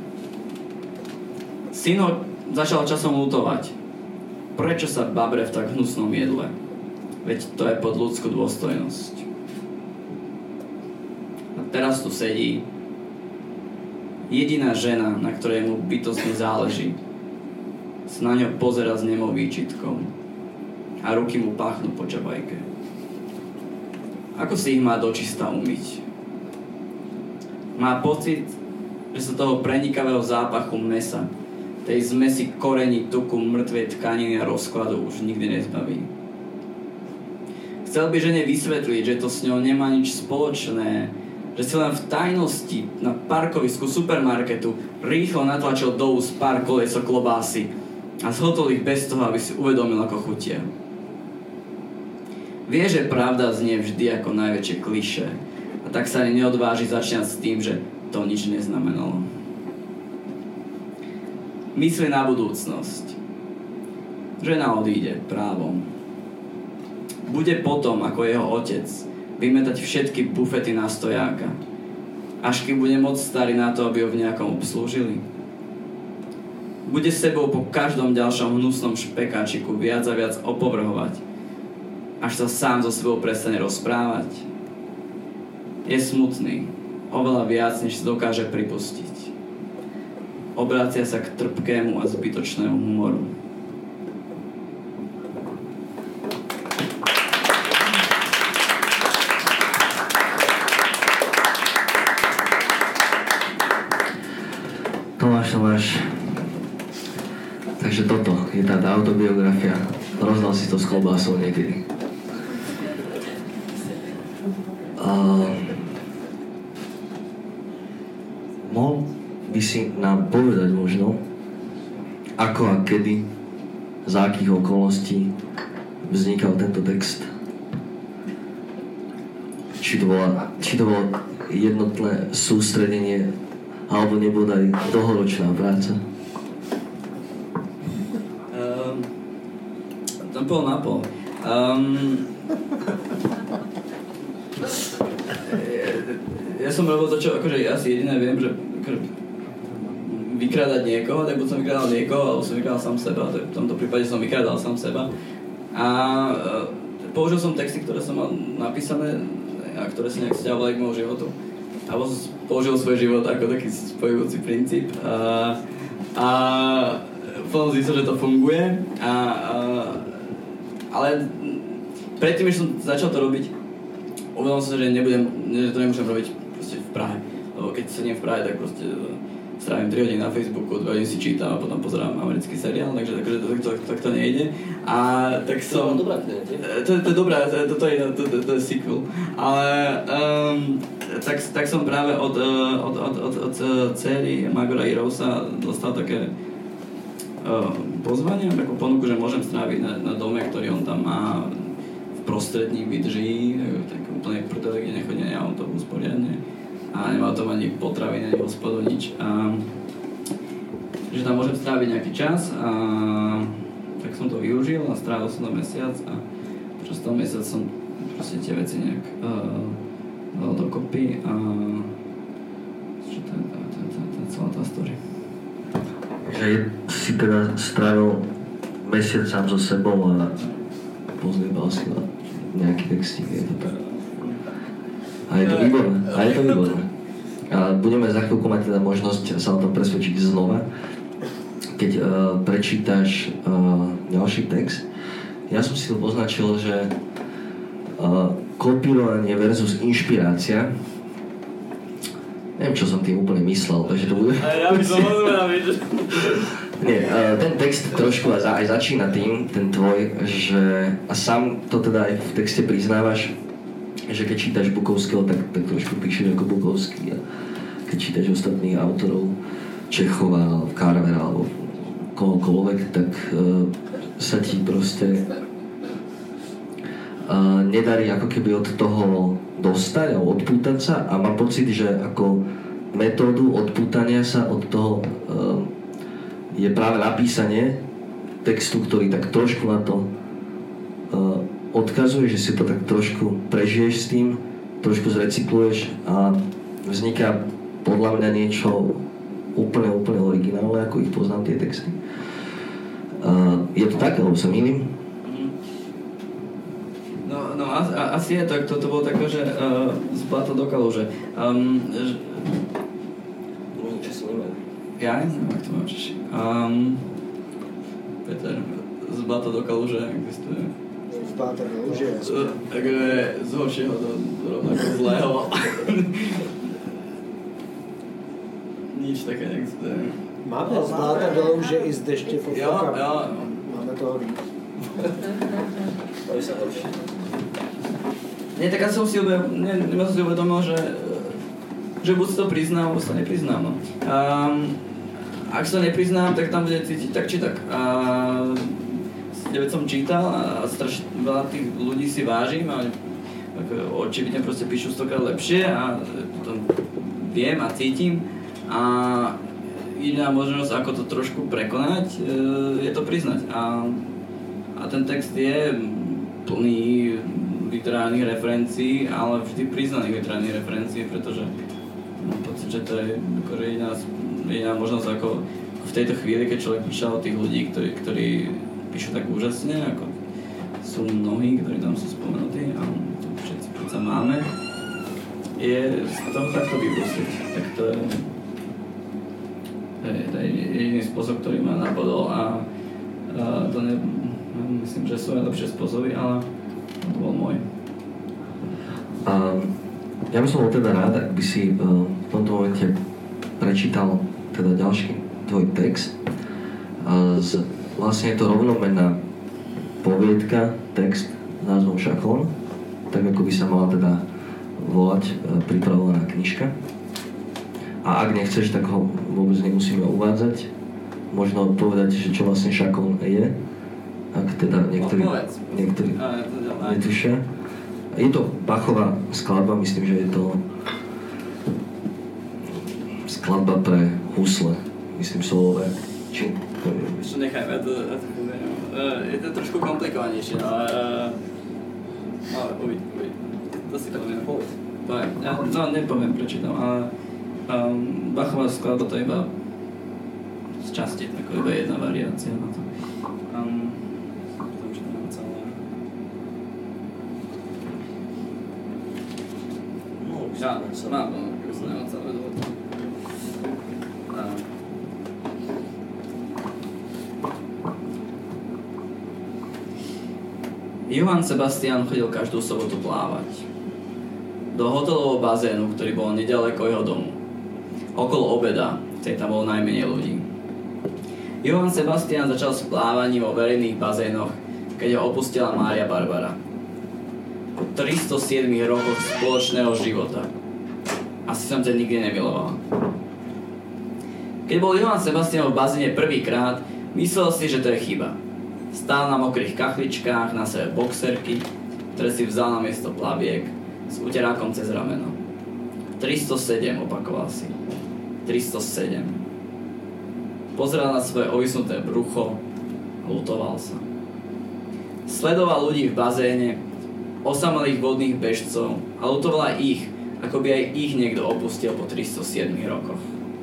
Syn ho začal časom ľutovať. Prečo sa babre v tak hnusnom jedle? Veď to je pod ľudskú dôstojnosť. A teraz tu sedí jediná žena, na ktorej mu bytostne záleží. Sa na ňo pozerá s nemou výčitkou a ruky mu páchnú po čabajke. Ako si ich má dočista umyť? Má pocit, že sa toho prenikavého zápachu mesa, tej zmesi korení, tuku, mŕtvej tkaniny a rozkladu už nikdy nezbaví. Chcel by žene vysvetliť, že to s ňou nemá nič spoločné, že si len v tajnosti na parkovisku supermarketu rýchlo natlačil do úst pár koliesok klobásy a zhotol ich bez toho, aby si uvedomil, ako chutia. Vie, že pravda znie vždy ako najväčšie klišé a tak sa ani neodváži začať s tým, že to nič neznamenalo. Myslí na budúcnosť. Žena odíde právom. Bude potom, ako jeho otec, vymetať všetky bufety na stojáka, až kým bude moc starý na to, aby ho v nejakom obslúžili. Bude sebou po každom ďalšom hnusnom špekáčiku viac a viac opovrhovať, až sa sám so sebou prestane rozprávať. Je smutný, oveľa viac, než si dokáže pripustiť. Obracia sa k trpkému a zbytočnému humoru. Tomáš. Takže toto je tá autobiografia. Rozdal si to s klobásou niekedy. Mohol by si nám povedať možno, ako a kedy, za akých okolností vznikal tento text? Či to bolo jednotné sústredenie, alebo nebola aj dlhoročná práca? To pol na pol. Ja som robil to, čo akože ja si jediné viem, že vykrádať niekoho, tak buď som vykrádal niekoho, alebo som vykrádal sám seba, tak v tomto prípade som vykrádal sám seba. A použil som texty, ktoré som mal napísané a ktoré si nejak vzťahovali k môjmu životu. Alebo použil svoj život ako taký spojujúci princíp. A potom zistil, že to funguje. Ale predtým, než som začal to robiť, uvedomil som sa, že to nemôžem robiť proste v Prahe. Lebo keď sedím v Prahe, tak proste strávim 3 hodiny na Facebooku, 2 hodiny si čítam a potom pozerám americký seriál, takže tak to nejde. A tak som... To je dobrá kniha, to je dobré, to je sequel. Ale tak som práve od dcery Magora Irousa dostal také pozvanie, takú ponuku, že môžem stráviť na dome, ktorý on tam má v prostrední Bydží, tak úplne protele, kde nechodí ani autobus poriadne. A nemá tam ani potraviny, ani hospodu, nič. Že tam môžem stráviť nejaký čas a tak som to využil a strávil som to mesiac a počas toho mesiac som proste tie veci nejak dal dokopy a čo to je celá tá story. Že si teda strávil mesiac sám so sebou a pozliebal si na nejaký textík, je to tak? A je to výborné. A budeme za chvíľku mať teda možnosť sa o tom presvedčiť znova, keď prečítaš ďalší text. Ja som si to poznačil, že kopírovanie versus inšpirácia. Neviem, čo som tým úplne myslel, takže to bude... Ja by som rozumel, že... Nie, ten text trošku aj začína tým, ten tvoj, že... A sám to teda aj v texte priznávaš, že keď čítaš Bukovského, tak trošku píšeš ako Bukovský. A keď čítaš ostatných autorov, Čechova, Carvera alebo kohokoľvek, tak sa ti proste nedarí ako keby od toho dostať a odpútať sa a mám pocit, že ako metódu odpútania sa od toho je práve napísanie textu, ktorý tak trošku na to odkazuje, že si to tak trošku prežiješ s tým, trošku zrecykluješ a vzniká podľa mňa niečo úplne originálne, ako ich poznám tie texty. Je to tak, alebo sa mýlim? No asi je tak, to bolo také, že z blata do kaluže. Niečo si nemá. Ja neviem, ak to mám Češi. Peter, z blata do kaluže existuje. Z blata do kaluže. Takže z horšieho do rovnako zlého. Nič také neexistuje. Máme z bláta do louže i z deště pod Jo. Máme toho víc. To je sa horšie. Nie, tak ja som si uvedomil, že buď to priznám, alebo sa nepriznám. No. Ak sa nepriznám, tak tam bude cítiť tak či tak. Veď som čítal a strašne veľa tých ľudí si vážim a očividne proste píšu 100-krát lepšie a to viem a cítim. A jediná možnosť, ako to trošku prekonať, je to priznať. A ten text je plný literárnych referencií, ale vždy priznaných literárnych referencií, pretože mám pocit, že to je akože jediná možnosť, ako v tejto chvíli, keď človek píše o tých ľudí, ktorí píšu tak úžasne, ako sú mnohí, ktorí tam sú spomenutí a to všetci predsa máme, je z toho takto vypustiť. Tak to je jediný spôsob, ktorý ma napadol a to myslím, že sú aj lepšie spôsoby, ale to bol môj. Ja by som bol teda rád, ak by si v tomto momente prečítal teda ďalší tvoj text. Vlastne je to rovnomenná poviedka, text s názvom Šaklón, tak ako by sa mala teda volať pripravovaná knižka. A ak nechceš, tak ho vôbec nemusíme uvádzať. Možno povedať, že čo vlastne Šaklón je, ak teda niektorí netušia. Je to Bachová skladba, myslím, že je to skladba pre husle, myslím solové. Či? Nechajme, je to trošku komplikovanejšie, ale uvidí. To si poviem. No, nepoviem, prečítam, ale Bachová skladba to je iba časti, tako iba jedna variácia na to. Mám to nemá celé dôvod. Johann Sebastian chodil každú sobotu plávať. Do hotelového bazénu, ktorý bol nedaleko jeho domu. Okolo obeda, keď tam bolo najmenej ľudí. Johann Sebastian začal s plávaním vo verejných bazénoch, keď ho opustila Mária Barbara. Po 307 rokoch spoločného života. Asi som ťa nikdy nemilovala. Keď bol Johann Sebastian v bazéne prvýkrát, myslel si, že to je chyba. Stál na mokrých kachličkách, na sebe boxerky, ktoré si vzal na miesto plaviek, s uterákom cez rameno. 307, opakoval si. 307. Pozeral na svoje ovisnuté brucho a lutoval sa. Sledoval ľudí v bazéne, osamelých vodných bežcov a lutoval aj ich, ako by aj ich niekto opustil po 307 rokoch.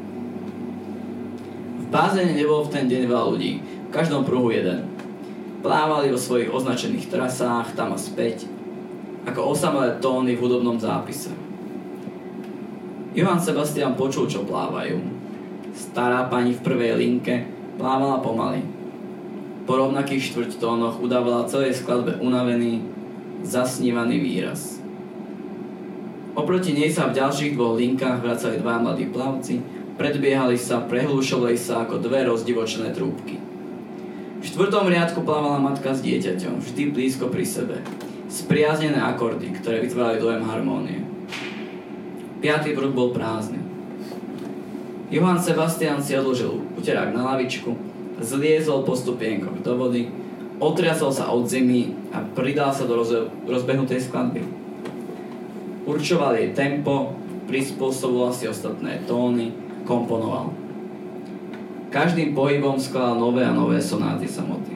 V bazéne nebolo v ten deň veľa ľudí, v každom pruhu jeden. Plávali vo svojich označených trasách tam a späť, ako osamelé tóny v hudobnom zápise. Johann Sebastian počul, čo plávajú. Stará pani v prvej linke plávala pomaly. Po rovnakých štvrťtónoch udávala celej skladbe unavený, zasnívaný výraz. Oproti nej sa v ďalších dvoch linkách vracali dva mladí plavci, predbiehali sa, prehlúšovali sa ako dve rozdivočené trúbky. V štvrtom riadku plávala matka s dieťaťom, vždy blízko pri sebe. Spriaznené akordy, ktoré vytvárali dojem harmónie. 5. pruh bol prázdny. Johann Sebastian si odložil uterák na lavičku, zliezol po stupienkoch do vody, otriasol sa od zimy a pridal sa do rozbehnutej skladby. Určoval jej tempo, prispôsoboval si ostatné tóny, komponoval. Každým pohybom skladal nové a nové sonáty samoty.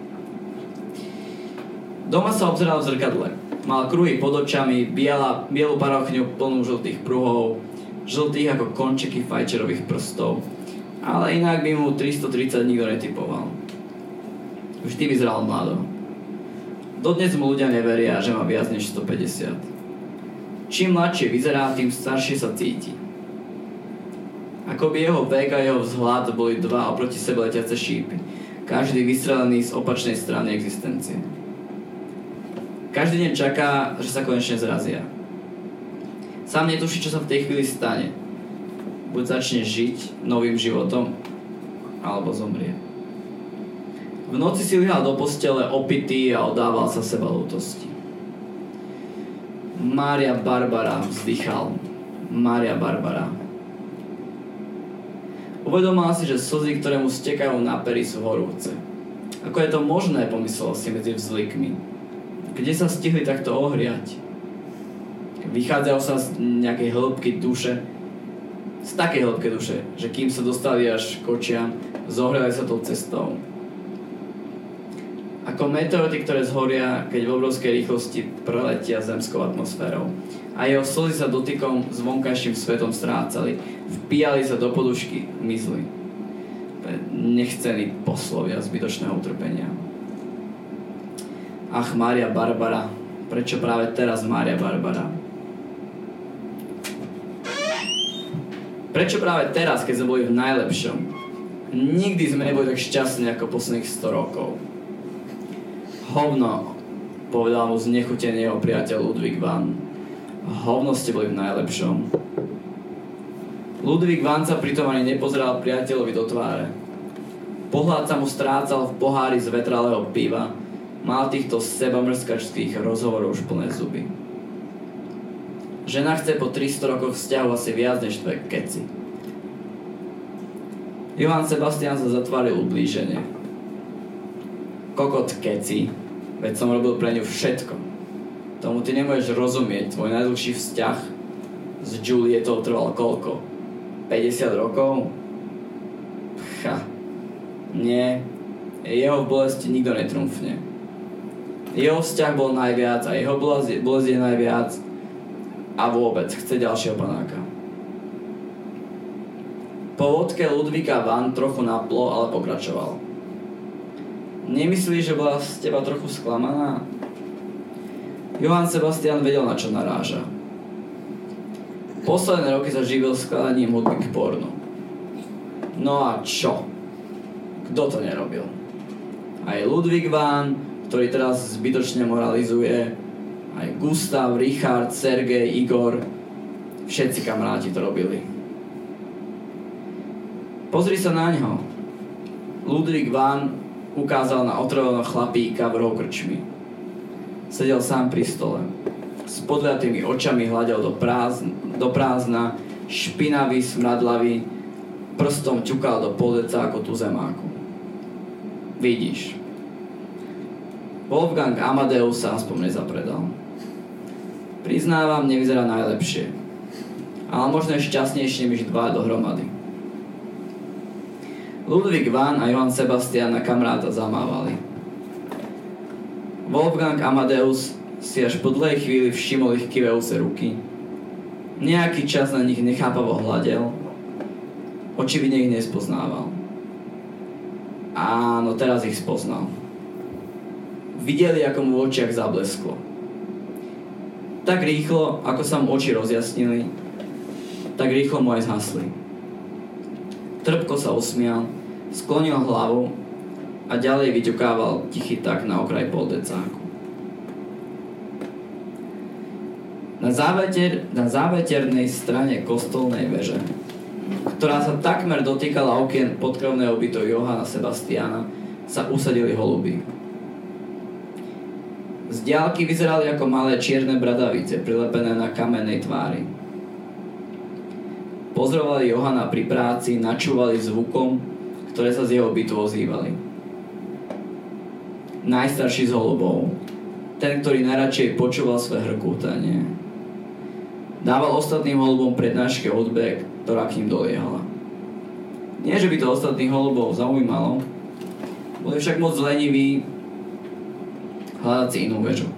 Doma sa obzeral v zrkadle. Mal kruhy pod očami, bielu parochňu plnú žltých pruhov, žltých ako končeky fajčerových prstov, ale inak by mu 330 nikto netypoval. Vždy vyzeral mlado. Dodnes mu ľudia neveria, že má viac než 150. Čím mladšie vyzerá, tým staršie sa cíti. Ako by jeho vek a jeho vzhľad boli dva oproti sebe letiace šípy, každý vystrelený z opačnej strany existencie. Každý deň čaká, že sa konečne zrazia. Sám netuší, čo sa v tej chvíli stane. Buď začne žiť novým životom, alebo zomrie. V noci si lihal do postele opitý a oddával sa seba ľútosti. Mária Barbara, vzdychal. Mária Barbara. Uvedomil si, že slzy, ktoré mu stekajú na pery, sú horúce. Ako je to možné, pomyslel si medzi vzlikmi. Kde sa stihli takto ohriať? Vychádzajú sa z nejakej hĺbky duše, z takej hĺbky duše, že kým sa dostali až k očiam, zohreli sa tou cestou. Ako meteority, ktoré zhoria, keď v obrovskej rýchlosti preletia zemskou atmosférou. A jeho slzy sa dotykom s vonkajším svetom strácali, vpíjali sa do podušky, mizli. Nechcený poslovia zbytočného utrpenia. Ach, Mária Barbara, prečo práve teraz Mária Barbara? Prečo práve teraz, keď sme boli v najlepšom? Nikdy sme neboli tak šťastní ako posledných 100 rokov. Hovno, povedal mu znechutený jeho priateľ Ludwig van. Hovno ste boli v najlepšom. Ludwig van sa pritom ani nepozeral priateľovi do tváre. Pohľad sa mu strácal v pohári z vetralého piva. Mal týchto sebamrskačských rozhovorov už plné zuby. Žena chce po 300 rokoch vzťahu asi viac než tvoje keci. Johann Sebastian sa zatváril ublíženie. Kokot keci, veď som robil pre ňu všetko. Tomu ty nemôžeš rozumieť, tvoj najdlhší vzťah s Julietou trval koľko? 50 rokov? Pcha. Nie, jeho v bolesti nikto netrúfne. Jeho vzťah bol najviac a jeho bolesť je najviac a vôbec chce ďalšieho panáka. Po vodke Ludvíka van trochu naplo, ale pokračoval. Nemyslíš, že bola z teba trochu sklamaná? Johann Sebastian vedel, na čo naráža. Posledné roky sa živil skladaním hudby k pornu. No a čo? Kto to nerobil? Aj Ludvík van, ktorý teraz zbytočne moralizuje, aj Gustav, Richard, Sergej, Igor, všetci kamaráti to robili. Pozri sa na ňo. Ludvík van ukázal na otrového chlapíka v rohu krčmy. Sedel sám pri stole. S podliatými očami hľadel do prázdna, špinavý, smradlavý, prstom ťukal do poldeca ako tuzemáku. Vidíš. Wolfgang Amadeus sa aspoň nezapredal. Priznávam, nevyzerá najlepšie. Ale možno je šťastnejšie než dva dohromady. Ludvík van a Johann Sebastian na kamaráta zamávali. Wolfgang Amadeus si až po dlhej chvíli všimol ich kývajúce ruky. Nejaký čas na nich nechápavo hľadel. Očividne ich nespoznával. Áno, teraz ich spoznal. Videli, ako mu v očiach zablesklo. Tak rýchlo, ako sa mu oči rozjasnili, tak rýchlo mu aj zhasli. Trpko sa usmial, sklonil hlavu a ďalej vyťukával tichý tak na okraj poldecáku. Na záveternej strane kostolnej veže, ktorá sa takmer dotýkala okien podkrovného bytu Johanna Sebastiana, sa usadili holuby. Z diaľky vyzerali ako malé čierne bradavice prilepené na kamennej tvári. Pozorovali Johanna pri práci, načúvali zvukom, ktoré sa z jeho bytu ozývali. Najstarší z holubov, ten, ktorý najradšej počúval svoje hrkútanie, dával ostatným holubom prednášky o hudbe, ktorá k ním doliehala. Nie, že by to ostatných holubov zaujímalo, boli však moc leniví hľadať si inú väžu.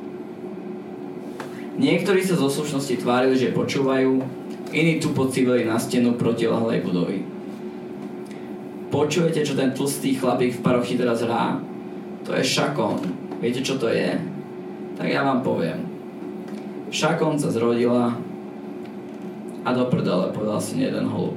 Niektorí sa zo slušnosti tvárili, že počúvajú, iní tu pocivili na stenu protilahlej budovy. Počujete, čo ten tlstý chlapík v parochii teraz hrá? To je šakón. Viete, čo to je? Tak ja vám poviem. Šakón sa zrodila a do prdele, povedal si jeden holub.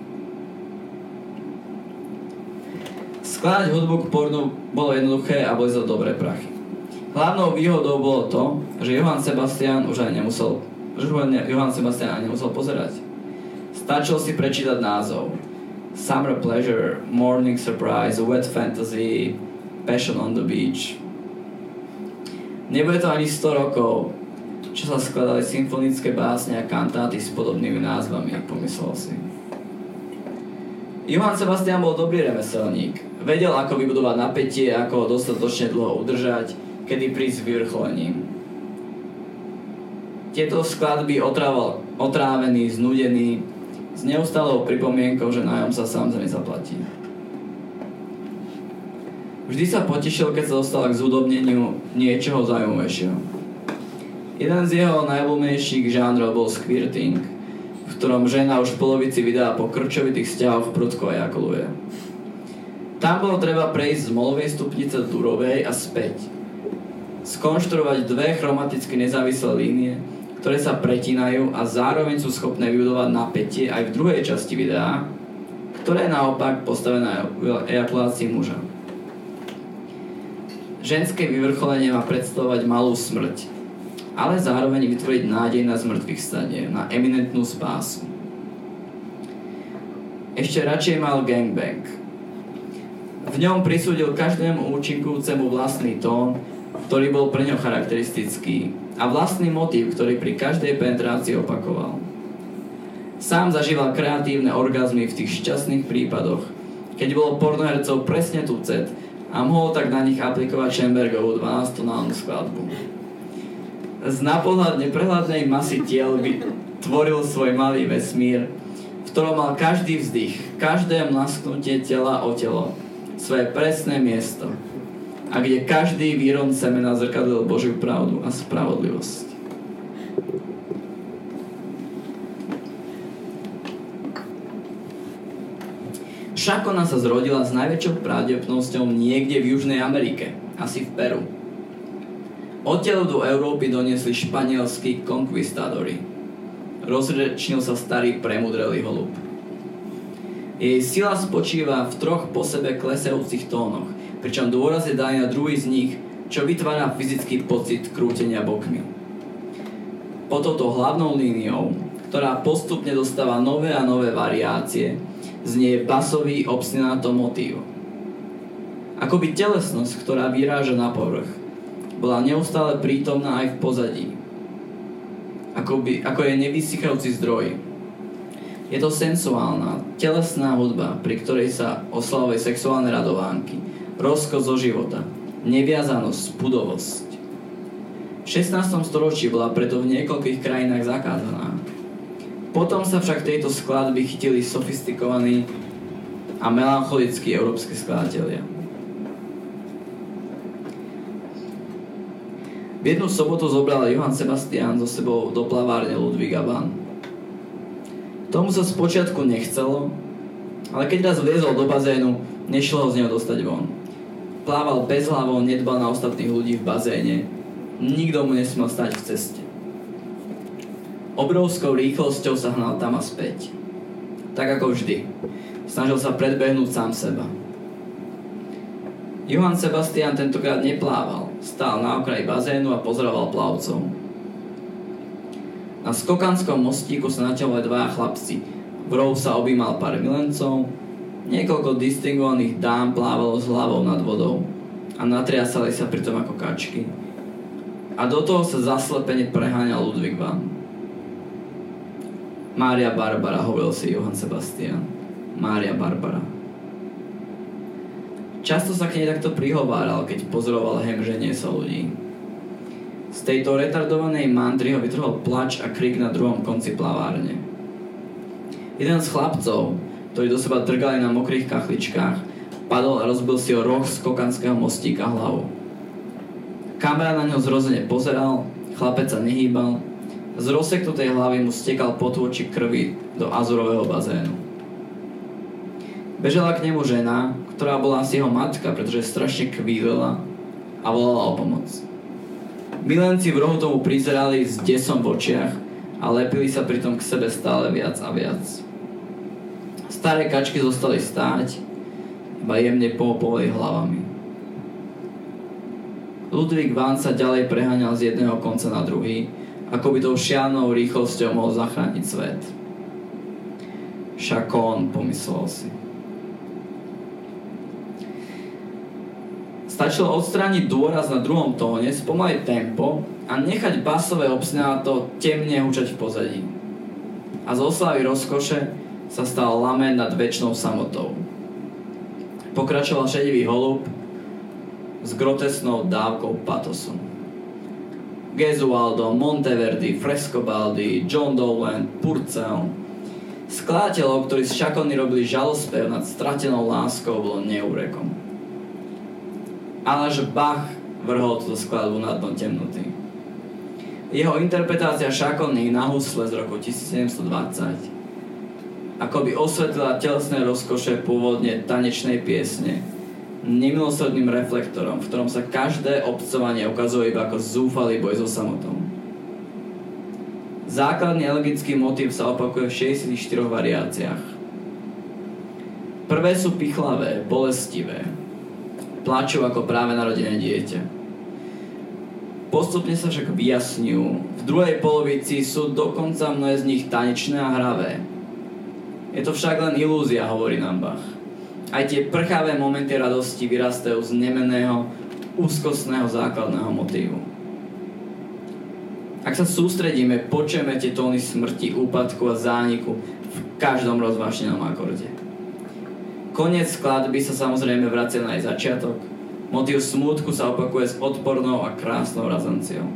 Skladať hudbu k pornu bolo jednoduché a boli za dobré prachy. Hlavnou výhodou bolo to, že Johann Sebastian ani nemusel pozerať. Stačilo si prečítať názov. Summer Pleasure, Morning Surprise, Wet Fantasy, Passion on the Beach. Nebude to ani 100 rokov, čo sa skladali symfonické básne a kantáty s podobnými názvami, pomyslel si. Johann Sebastian bol dobrý remeselník. Vedel, ako vybudovať napätie, ako ho dostatočne dlho udržať, kedy prísť s vyvrcholením. Tieto skladby otrávený, znudený, s neustálou pripomienkou, že nájom sa sám nezaplatí. Vždy sa potešil, keď sa dostal k zúdobneniu niečoho zaujímavejšieho. Jeden z jeho najobľúbenejších žánrov bol squirting, v ktorom žena už v polovici videa po krčovitých vzťahoch prudko ejakuluje. Tam bolo treba prejsť z molovej stupnice do durovej a späť. Skonštruovať dve chromaticky nezávislé línie, ktoré sa pretínajú a zároveň sú schopné vybudovať napätie aj v druhej časti videa, ktoré je naopak postavené na ejakulácii muža. Ženské vyvrcholenie má predstavovať malú smrť, ale zároveň vytvoriť nádej na zmŕtvychvstanie, na eminentnú spásu. Ešte radšej mal gangbang. V ňom prisúdil každému účinkujúcemu vlastný tón, ktorý bol pre ňo charakteristický, a vlastný motív, ktorý pri každej penetrácii opakoval. Sám zažíval kreatívne orgazmy v tých šťastných prípadoch, keď bolo pornohercov presne tucet a mohol tak na nich aplikovať Schönbergovú 12-tónálnu skladbu. Z napohľad neprehľadnej masy tiel tvoril svoj malý vesmír, v ktorom mal každý vzdych, každé mlasknutie tela o telo, svoje presné miesto, a kde každý výron semena zrkadlil Božiu pravdu a spravodlivosť. Šakona sa zrodila s najväčšou pravdepodobnosťou niekde v Južnej Amerike, asi v Peru. Odtiaľ do Európy doniesli španielskí konkvistádori. Rozrečnil sa starý premudrelý holub. Jej sila spočíva v 3 po sebe klesajúcich tónoch, pričom dôraz je daný na druhý z nich, čo vytvára fyzický pocit krútenia bokmi. Po touto hlavnou líniou, ktorá postupne dostáva nové a nové variácie, znie basový obstinato motív. Akoby telesnosť, ktorá vyráža na povrch, bola neustále prítomná aj v pozadí. Ako je nevysychajúci zdroj. Je to sensuálna, telesná hudba, pri ktorej sa oslavuje sexuálne radovánky, rozkoš zo života, neviazanosť, pudovosť. V 16. storočí bola preto v niekoľkých krajinách zakázaná. Potom sa však tejto skladby chytili sofistikovaní a melancholickí európski skladatelia. V jednu sobotu zobral Johann Sebastian so sebou do plavárne Ludwiga van. Tomu sa spočiatku nechcelo, ale keď raz vliezol do bazénu, nešlo ho z neho dostať von. Plával bezhlavo, nedbal na ostatných ľudí v bazéne. Nikto mu nesmel stať v ceste. Obrovskou rýchlosťou sa hnal tam a späť. Tak ako vždy. Snažil sa predbehnúť sám seba. Johann Sebastian tentokrát neplával. Stál na okraji bazénu a pozoroval plavcov. Na skokanskom mostíku sa natiaľovali 2 chlapci. V rohu sa objímal pár milencov. Niekoľko distingovaných dám plávalo s hlavou nad vodou a natriasali sa pritom ako kačky. A do toho sa zaslepene preháňal Ludwig van. Mária Barbara, hovoril si Johann Sebastian. Mária Barbara. Často sa k nej takto prihováral, keď pozoroval hemženie sa ľudí. Z tejto retardovanej mantry ho vytrhol plač a krik na druhom konci plavárne. Jeden z chlapcov, ktorí do seba drgali na mokrých kachličkách, padol a rozbil si o roh skokanského mostíka hlavu. Kamera na ňo zrozene pozeral, chlapec sa nehýbal, z rozseknutej hlavy mu stekal potôčik krvi do azurového bazénu. Bežala k nemu žena, ktorá bola asi jeho matka, pretože strašne kvílila a volala o pomoc. Milenci v rohu tomu prizerali s desom v očiach a lepili sa pritom k sebe stále viac a viac. Staré kačky zostali stáť, iba jemne pohopovali hlavami. Ludwig van sa ďalej preháňal z jedného konca na druhý, ako by tou šialnou rýchlosťou mohol zachrániť svet. Chacon, pomyslel si. Stačilo odstrániť dôraz na druhom tóne, spomaliť tempo a nechať basové obstinato temne hučať v pozadí. A z oslavy rozkoše sa stal lament nad večnou samotou. Pokračoval šedivý holub s grotesnou dávkou patosu. Gesualdo, Monteverdi, Frescobaldi, John Dowland, Purcell. Skladateľov, ktorí z Chacony robili žalospev nad stratenou láskou, bolo neúrekom. Ale až Bach vrhol túto skladbu na dno temnoty. Jeho interpretácia Chacony na husle z roku 1720 akoby osvetlila telesné rozkoše pôvodne tanečnej piesne nemilosrdným reflektorom, v ktorom sa každé obcovanie ukazuje iba ako zúfalý boj so samotou. Základný elegický motív sa opakuje v 64 variáciách. Prvé sú pichlavé, bolestivé, plačú ako práve narodené dieťa. Postupne sa však vyjasňujú. V druhej polovici sú dokonca mnohé z nich tanečné a hravé. Je to však len ilúzia, hovorí nám Bach. Aj tie prchavé momenty radosti vyrastajú z nemenného, úzkostného základného motívu. Ak sa sústredíme, počujeme tie tóny smrti, úpadku a zániku v každom rozvášnenom akorde. Koniec skladby sa samozrejme vracia na jej začiatok. Motív smútku sa opakuje s odpornou a krásnou razanciou.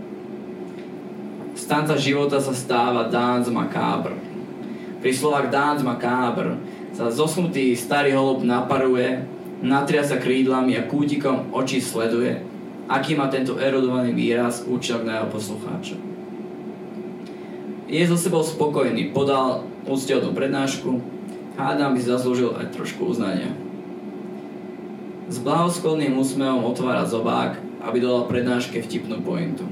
Z tanca života sa stáva Danse macabre. Pri slovách Danse macabre sa zosnutý starý holub naparuje, natria sa krídlami a kútikom očí sleduje, aký má tento erudovaný výraz účinok na jeho poslucháča. Je so sebou spokojný, podal úctihodnú prednášku, Hádam by zaslúžil aj trošku uznania. S blahosklonným úsmevom otvára zobák, aby dala prednáške vtipnú pointu.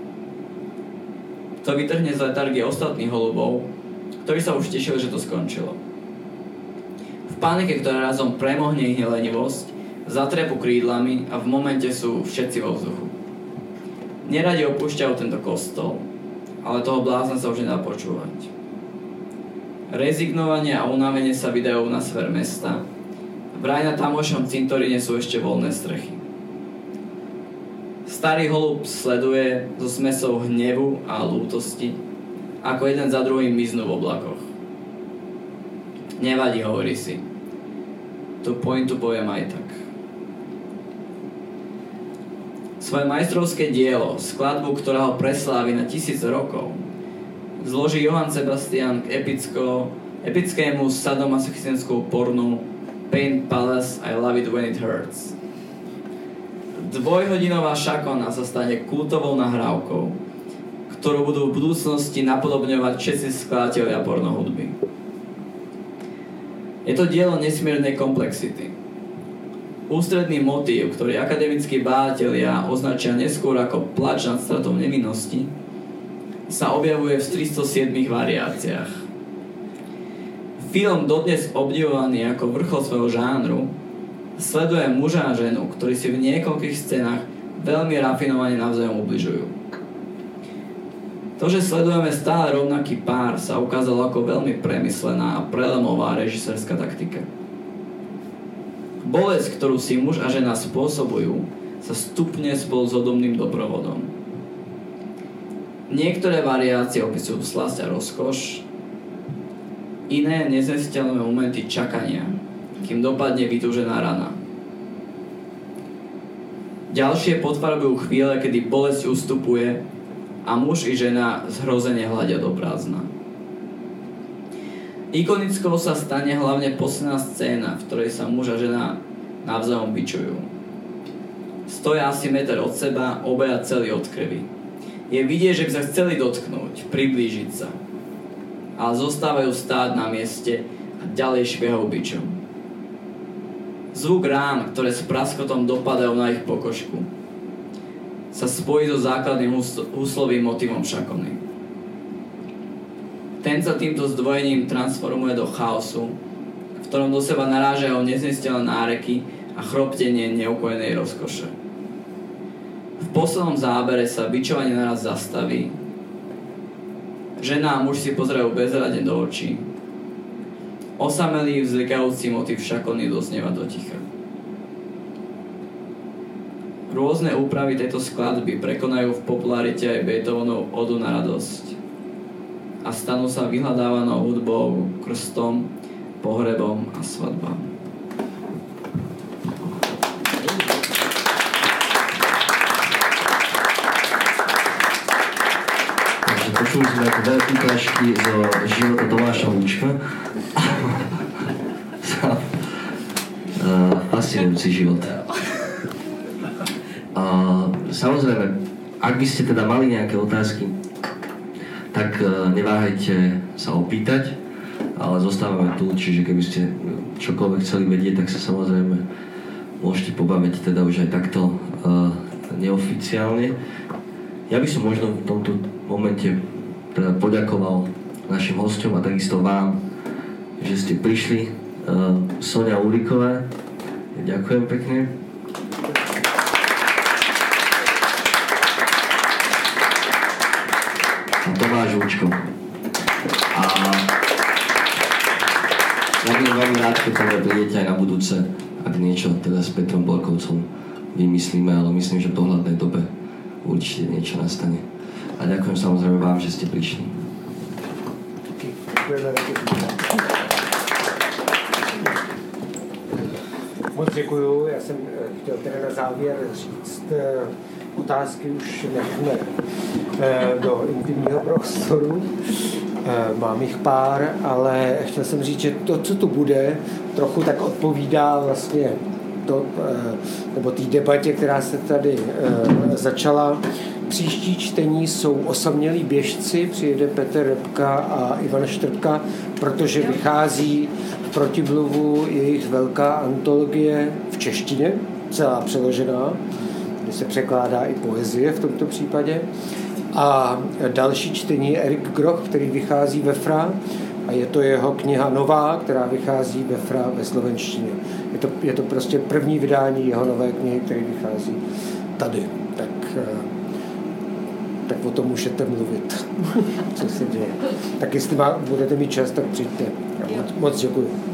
To vytrhne z letargie ostatných holubov, ktorí sa už tešili, že to skončilo. V panike, ktorá razom premohne ich lenivosť, zatrepu krídlami a v momente sú všetci vo vzduchu. Neradi opúšťajú tento kostol, ale toho blázna sa už nedá počúvať. Rezignovanie a unavenie sa vydajú na sfer mesta. Vraj na tamošom cintoríne sú ešte voľné strechy. Starý holub sleduje so smesou hnevu a lútosti, ako jeden za druhým miznú v oblakoch. Nevadí, hovorí si. Tú pointu poviem aj tak. Svoje majstrovské dielo, skladbu, ktorá ho preslávi na 1000 rokov, zloží Johann Sebastian k epickému sadomasochistickému pornu Paint Palace, I Love It When It Hurts. Dvojhodinová šakona sa stane kultovou nahrávkou, ktorú budú v budúcnosti napodobňovať všetci skladatelia pornohudby. Je to dielo nesmiernej komplexity. Ústredný motív, ktorý akademickí bádatelia označia neskôr ako plač nad stratou nevinnosti, sa objavuje v 307 variáciách. Film, dodnes obdivovaný ako vrchol svojho žánru, sleduje muža a ženu, ktorí si v niekoľkých scénach veľmi rafinovane navzájom ubližujú. To, že sledujeme stále rovnaký pár, sa ukázalo ako veľmi premyslená a prelemová režisérska taktika. Bolesť, ktorú si muž a žena spôsobujú, sa stupne spolu s hudobným doprovodom. Niektoré variácie opisujú slasť a rozkoš, iné neznesiteľné momenty čakania, kým dopadne vytúžená rana. Ďalšie potvarbujú chvíle, kedy bolesť ustupuje a muž i žena zhrozene hľadia do prázdna. Ikonickou sa stane hlavne posledná scéna, v ktorej sa muž a žena navzájom bičujú. Stoja asi meter od seba, obaja celí od krvi. Je vidieť, že by sa chceli dotknúť, priblížiť sa. Ale zostávajú stáť na mieste a ďalej šviehajú bičom. Zvuk rán, ktoré s praskotom dopadajú na ich pokožku, sa spojí so základným huslovým motivom šakony. Ten sa týmto zdvojením transformuje do chaosu, v ktorom do seba narážajú neznesiteľné náreky a chroptenie neukojenej rozkoše. V poslednom zábere sa bičovanie naraz zastaví. Žena a muž si pozerajú bezradne do očí. Osamelý vzlikajúci motiv šakony doznieva do ticha. Rôzne úpravy tejto skladby prekonajú v popularite aj Beethovenov odu na radosť a stanú sa vyhľadávanou hudbou, krstom, pohrebom a svadbám. Počuli sme ako veľké ukážky zo života Tomáša Lúčka. Fascinujúci život. Samozrejme, ak by ste teda mali nejaké otázky, tak neváhajte sa opýtať, ale zostávame tu, čiže keby ste čokoľvek chceli vedieť, tak sa samozrejme môžete pobaviť teda už aj takto neoficiálne. Ja by som možno v tomto momente teda poďakoval našim hosťom a takisto vám, že ste prišli. Soňa Ulíková, ďakujem pekne. A Tomáš Lúčko. A ja budem veľmi rád, keď teda prídete aj na budúce, ak niečo teda s Petrom Borkovcom vymyslíme, ale myslím, že v dohľadnej dobe určite niečo nastane. A ďakujem samozrejme vám, že ste prišli. Moc děkuju. Já jsem chtěl teda na závěr říct, otázky už nechme do intimního prostoru. Mám jich pár, ale chtěl jsem říct, že to, co tu bude, trochu tak odpovídá vlastně to, nebo té debatě, která se tady začala. Příští čtení jsou Osamělí běžci, přijede Petr Rybka a Ivan Štrbka, protože vychází v Protimluvu jejich velká antologie v češtině, celá přeložená, kde se překládá i poezie v tomto případě. A další čtení je Erik Groch, který vychází ve FRA, a je to jeho kniha nová, která vychází ve FRA ve slovenštině. Je to prostě první vydání jeho nové knihy, který vychází tady. Tak o tom můžete mluvit, co se děje. Tak jestli budete mít čas, tak přijďte. Moc děkuji.